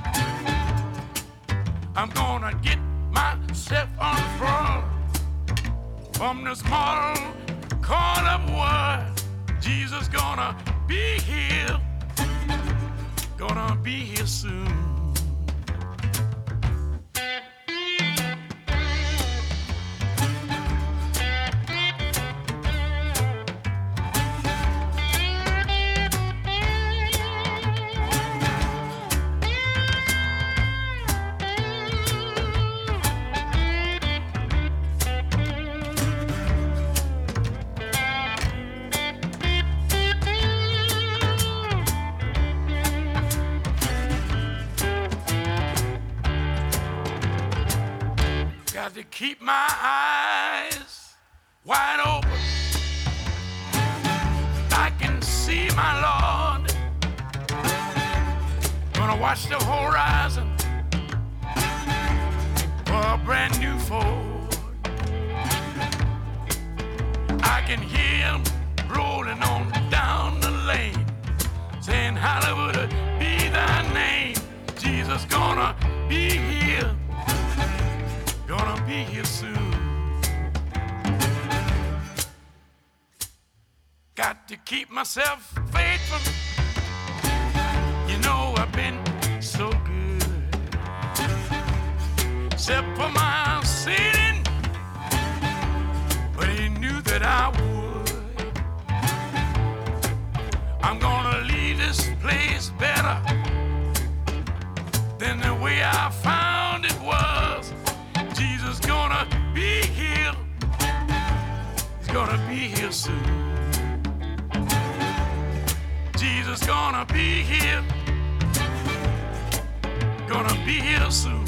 I'm gonna get myself on the front from this small corner of world. Jesus gonna be here. Gonna be here soon. Got to keep my eyes wide open. I can see my Lord. Gonna watch the horizon for a brand new Ford. I can hear him rolling on down the lane, saying, Hollywood, be thy name. Jesus gonna be here. Gonna be here soon. Got to keep myself faithful. You know I've been so good, except for my sinning, but he knew that I would. I'm gonna leave this place better than the way I found it was. Jesus gonna be here. He's gonna be here soon. Jesus gonna be here. Gonna be here soon.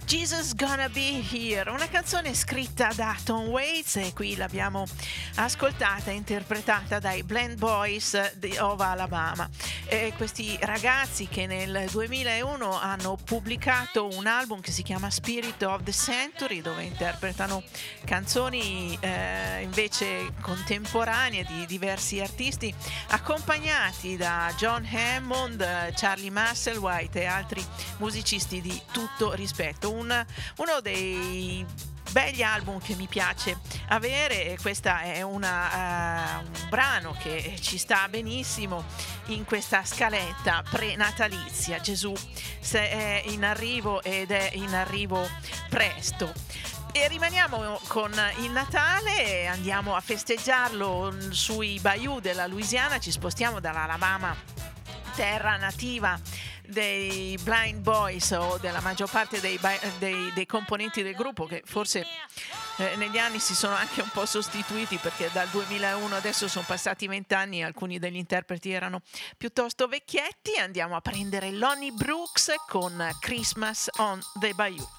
Jesus Gonna Be Here, una canzone scritta da Tom Waits e qui l'abbiamo ascoltata e interpretata dai Blend Boys of Alabama. Questi ragazzi che nel 2001 hanno pubblicato un album che si chiama Spirit of the Century, dove interpretano canzoni invece contemporanee di diversi artisti, accompagnati da John Hammond, Charlie Musselwhite e altri musicisti di tutto rispetto. Uno dei begli album che mi piace avere, e questa è un brano che ci sta benissimo in questa scaletta prenatalizia. Gesù è in arrivo ed è in arrivo presto. E rimaniamo con il Natale, andiamo a festeggiarlo sui bayou della Louisiana, ci spostiamo dall'Alabama, terra nativa dei Blind Boys o della maggior parte dei componenti del gruppo, che forse negli anni si sono anche un po' sostituiti, perché dal 2001 adesso sono passati 20 anni e alcuni degli interpreti erano piuttosto vecchietti. Andiamo a prendere Lonnie Brooks con Christmas on the Bayou.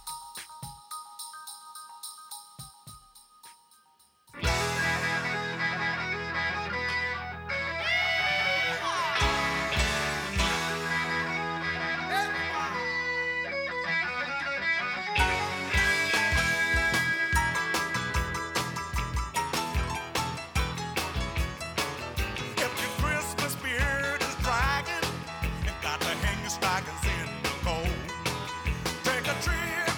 Stockings in the cold. Take a trip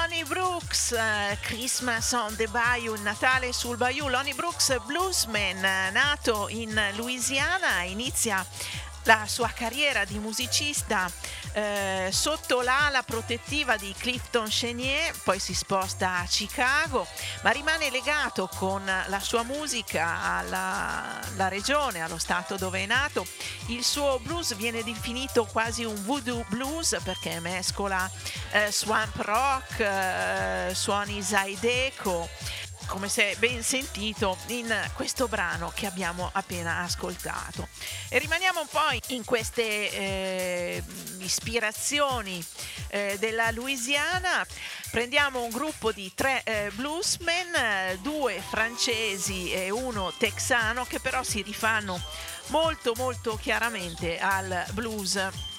Lonnie Brooks, Christmas on the Bayou, il Natale sul Bayou. Lonnie Brooks, bluesman, nato in Louisiana, inizia la sua carriera di musicista sotto l'ala protettiva di Clifton Chenier, poi si sposta a Chicago, ma rimane legato con la sua musica alla regione, allo stato dove è nato. Il suo blues viene definito quasi un voodoo blues perché mescola swamp rock, suoni zydeco, come si è ben sentito in questo brano che abbiamo appena ascoltato. E rimaniamo un po' in queste ispirazioni della Louisiana. Prendiamo un gruppo di 3 bluesmen, 2 francesi e 1 texano, che però si rifanno molto molto chiaramente al blues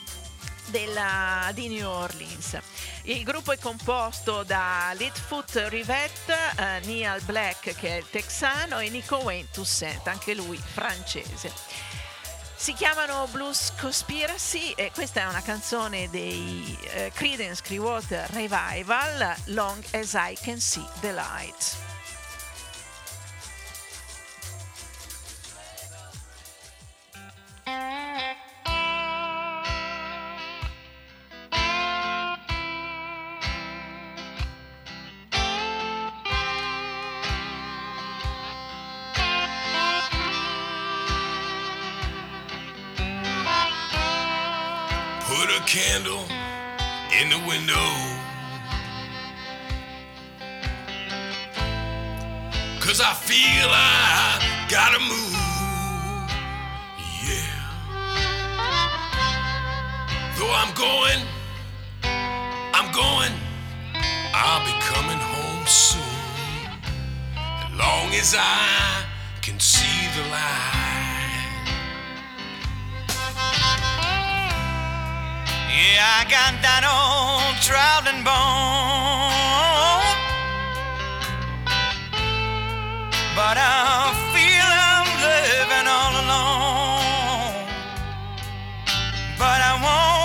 di New Orleans. Il gruppo è composto da Litfoot Rivette, Neal Black che è il texano e Nico Wayne Toussaint, anche lui francese. Si chiamano Blues Conspiracy e questa è una canzone dei Creedence Clearwater Revival, Long as I Can See the Light. Put a candle in the window, 'cause I feel I gotta move, yeah. Though I'm going, I'll be coming home soon, as long as I can see the light. Yeah, I got that old traveling bone, but I feel I'm living all alone. But I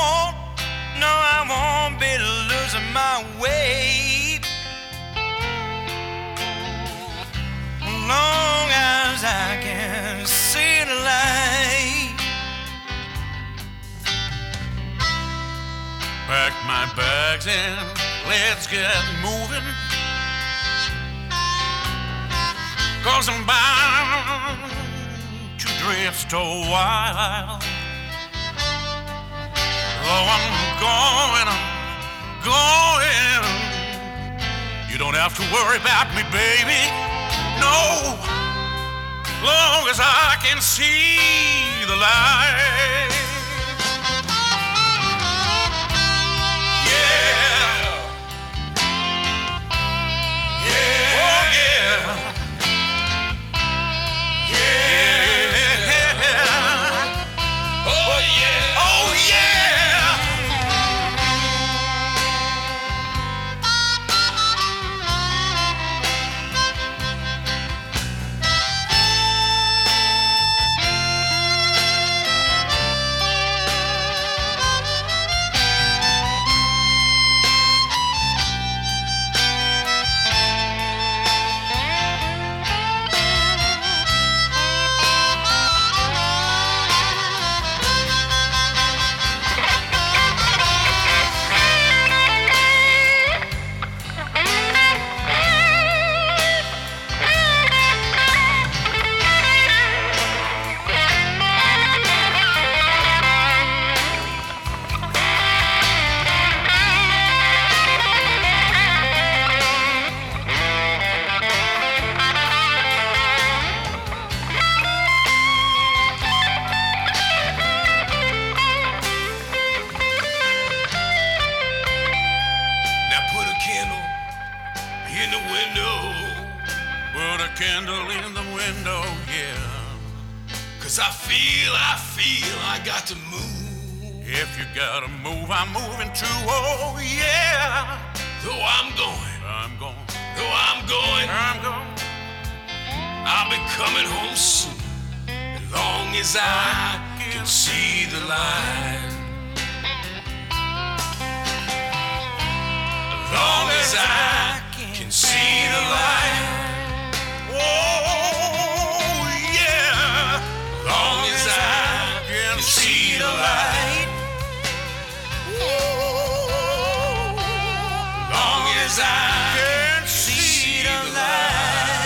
won't be losing my way, long as I can see the light. Pack my bags and let's get moving, 'cause I'm bound to drift a while. Oh, I'm going, you don't have to worry about me, baby, no, long as I can see the light. Candle in the window, yeah. 'Cause I feel I got to move. If you gotta move, I'm moving too, oh yeah. Though I'm going, I'll be coming home soon, as long as I can see the light. As long as I can see the light. Oh, yeah, long as I can see the light. Oh, long as I can see the light.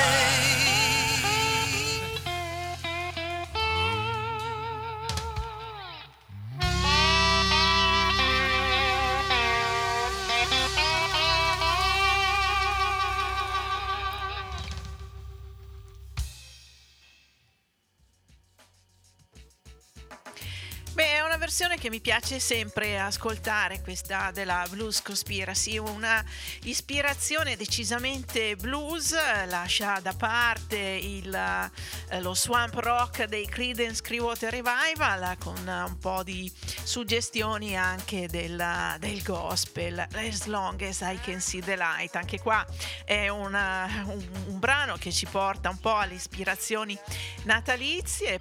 Beh, è una versione che mi piace sempre ascoltare, questa della Blues Conspiracy, una ispirazione decisamente blues, lascia da parte lo swamp rock dei Creedence Clearwater Revival con un po' di suggestioni anche del gospel, As Long As I Can See the Light. Anche qua è un brano che ci porta un po' alle ispirazioni natalizie,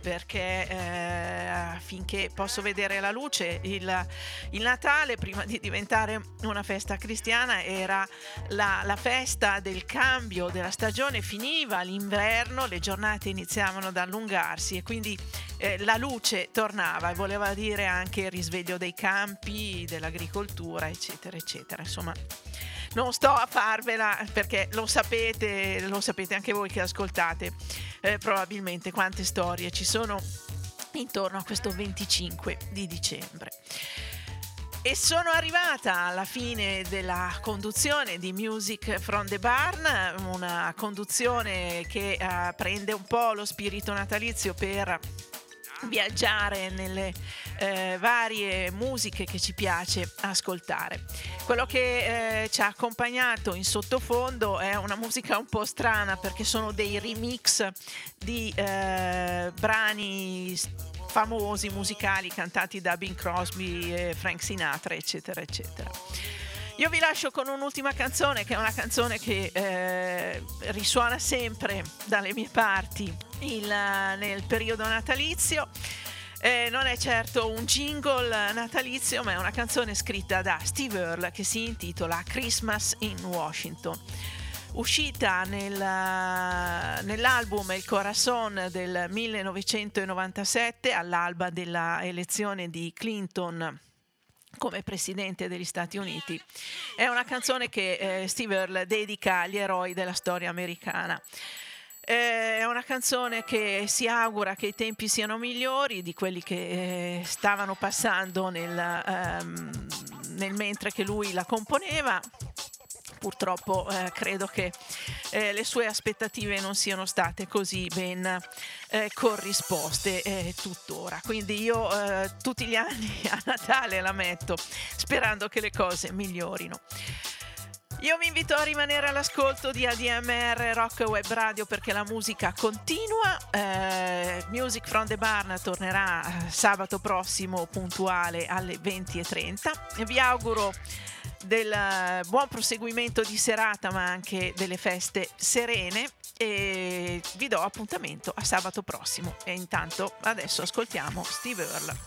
perché finché posso vedere la luce il Natale, prima di diventare una festa cristiana, era la festa del cambio della stagione, finiva l'inverno, le giornate iniziavano ad allungarsi e quindi la luce tornava, e voleva dire anche il risveglio dei campi, dell'agricoltura, eccetera eccetera. Insomma, non sto a farvela, perché lo sapete anche voi che ascoltate probabilmente quante storie ci sono intorno a questo 25 di dicembre. E sono arrivata alla fine della conduzione di Music from the Barn, una conduzione che prende un po' lo spirito natalizio per viaggiare nelle varie musiche che ci piace ascoltare. Quello che ci ha accompagnato in sottofondo è una musica un po' strana, perché sono dei remix di brani famosi musicali cantati da Bing Crosby, Frank Sinatra, eccetera eccetera. Io vi lascio con un'ultima canzone, che è una canzone che risuona sempre dalle mie parti nel periodo natalizio. Non è certo un jingle natalizio, ma è una canzone scritta da Steve Earle che si intitola Christmas in Washington, uscita nell'album Il Corazon del 1997, all'alba della elezione di Clinton come presidente degli Stati Uniti. È una canzone che Steve Earle dedica agli eroi della storia americana. È una canzone che si augura che i tempi siano migliori di quelli che stavano passando nel mentre che lui la componeva. Purtroppo credo che le sue aspettative non siano state così ben corrisposte tuttora. Quindi io tutti gli anni a Natale la metto, sperando che le cose migliorino. Io vi invito a rimanere all'ascolto di ADMR Rock Web Radio, perché la musica continua. Music from the Barn tornerà sabato prossimo puntuale alle 20:30. Vi auguro del buon proseguimento di serata, ma anche delle feste serene, e vi do appuntamento a sabato prossimo. E intanto adesso ascoltiamo Steve Earle.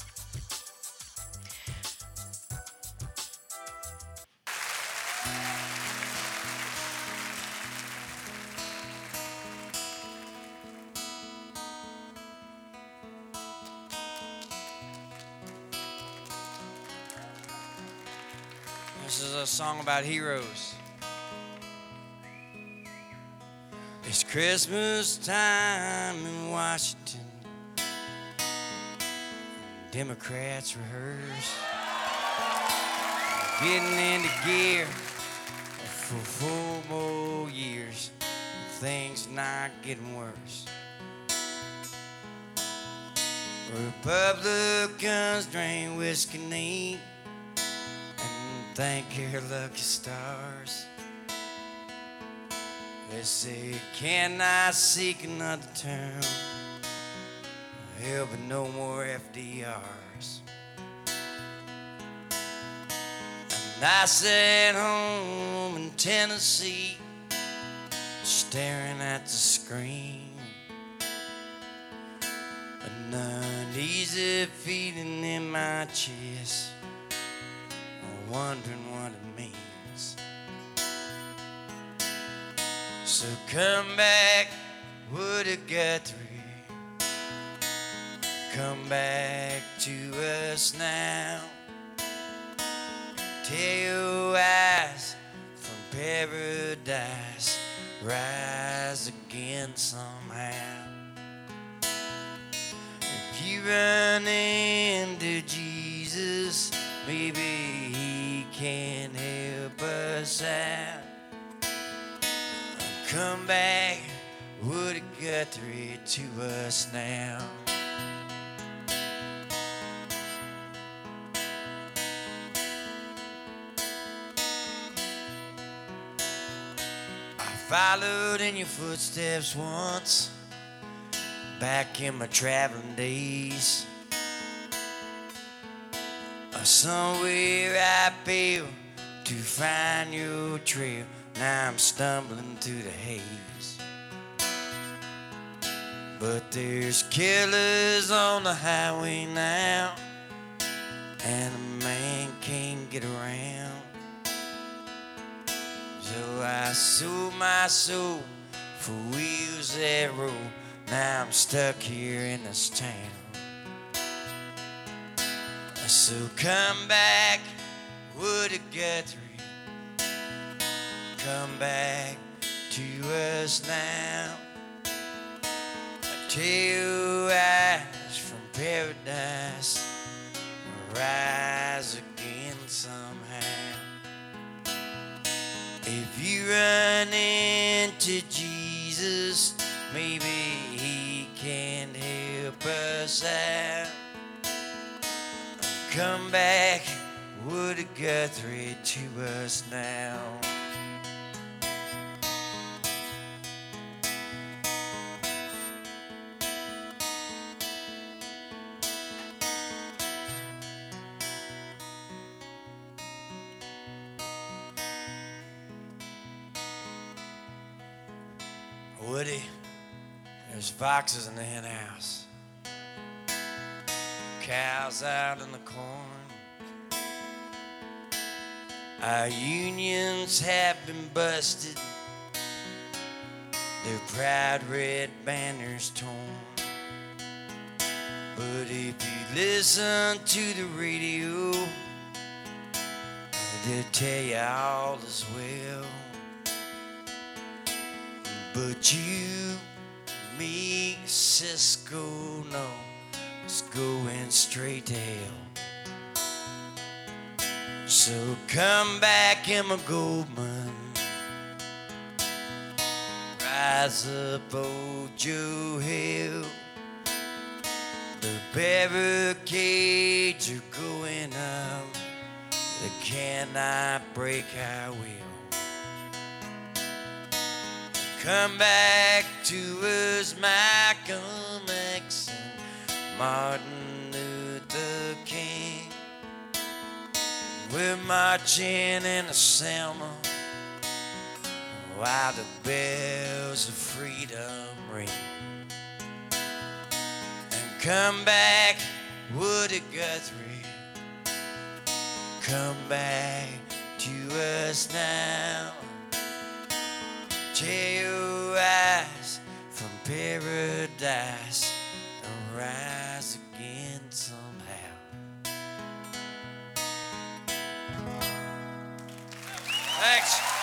This is a song about heroes. It's Christmas time in Washington. Democrats rehearse, getting into gear for 4 more years. Things not getting worse. Republicans drink whiskey neat and thank your lucky stars. They say, can I seek another term? There'll be no more FDRs. And I sat home in Tennessee, staring at the screen, an uneasy feeling in my chest, wondering what it means. So come back, Woody Guthrie. Come back to us now. Tear your eyes from paradise, rise again somehow. If you run into Jesus, maybe he can help us out. Come back, Woody Guthrie, to us now. Followed in your footsteps once, back in my traveling days. Somewhere I failed to find your trail. Now I'm stumbling through the haze. But there's killers on the highway now, and a man can't get around. So I sold my soul for wheels that roll. Now I'm stuck here in this town. So come back, Woody Guthrie. Come back to us now. Tear your eyes from paradise, rise again somehow. If you run into Jesus, maybe he can help us out. Come back, Woody Guthrie, to us now. Woody, there's foxes in the hen house, cows out in the corn. Our unions have been busted, their proud red banners torn. But if you listen to the radio, they'll tell you all is well. But you, me, Cisco, no, it's going straight to hell. So come back, Emma Goldman. Rise up, old Joe Hill. The barricades are going up. They cannot break our will. Come back to us, Malcolm X and Martin Luther King. We're marching in the Selma while the bells of freedom ring. And come back, Woody Guthrie. Come back to us now. Tear your eyes from paradise and rise again somehow. Thanks.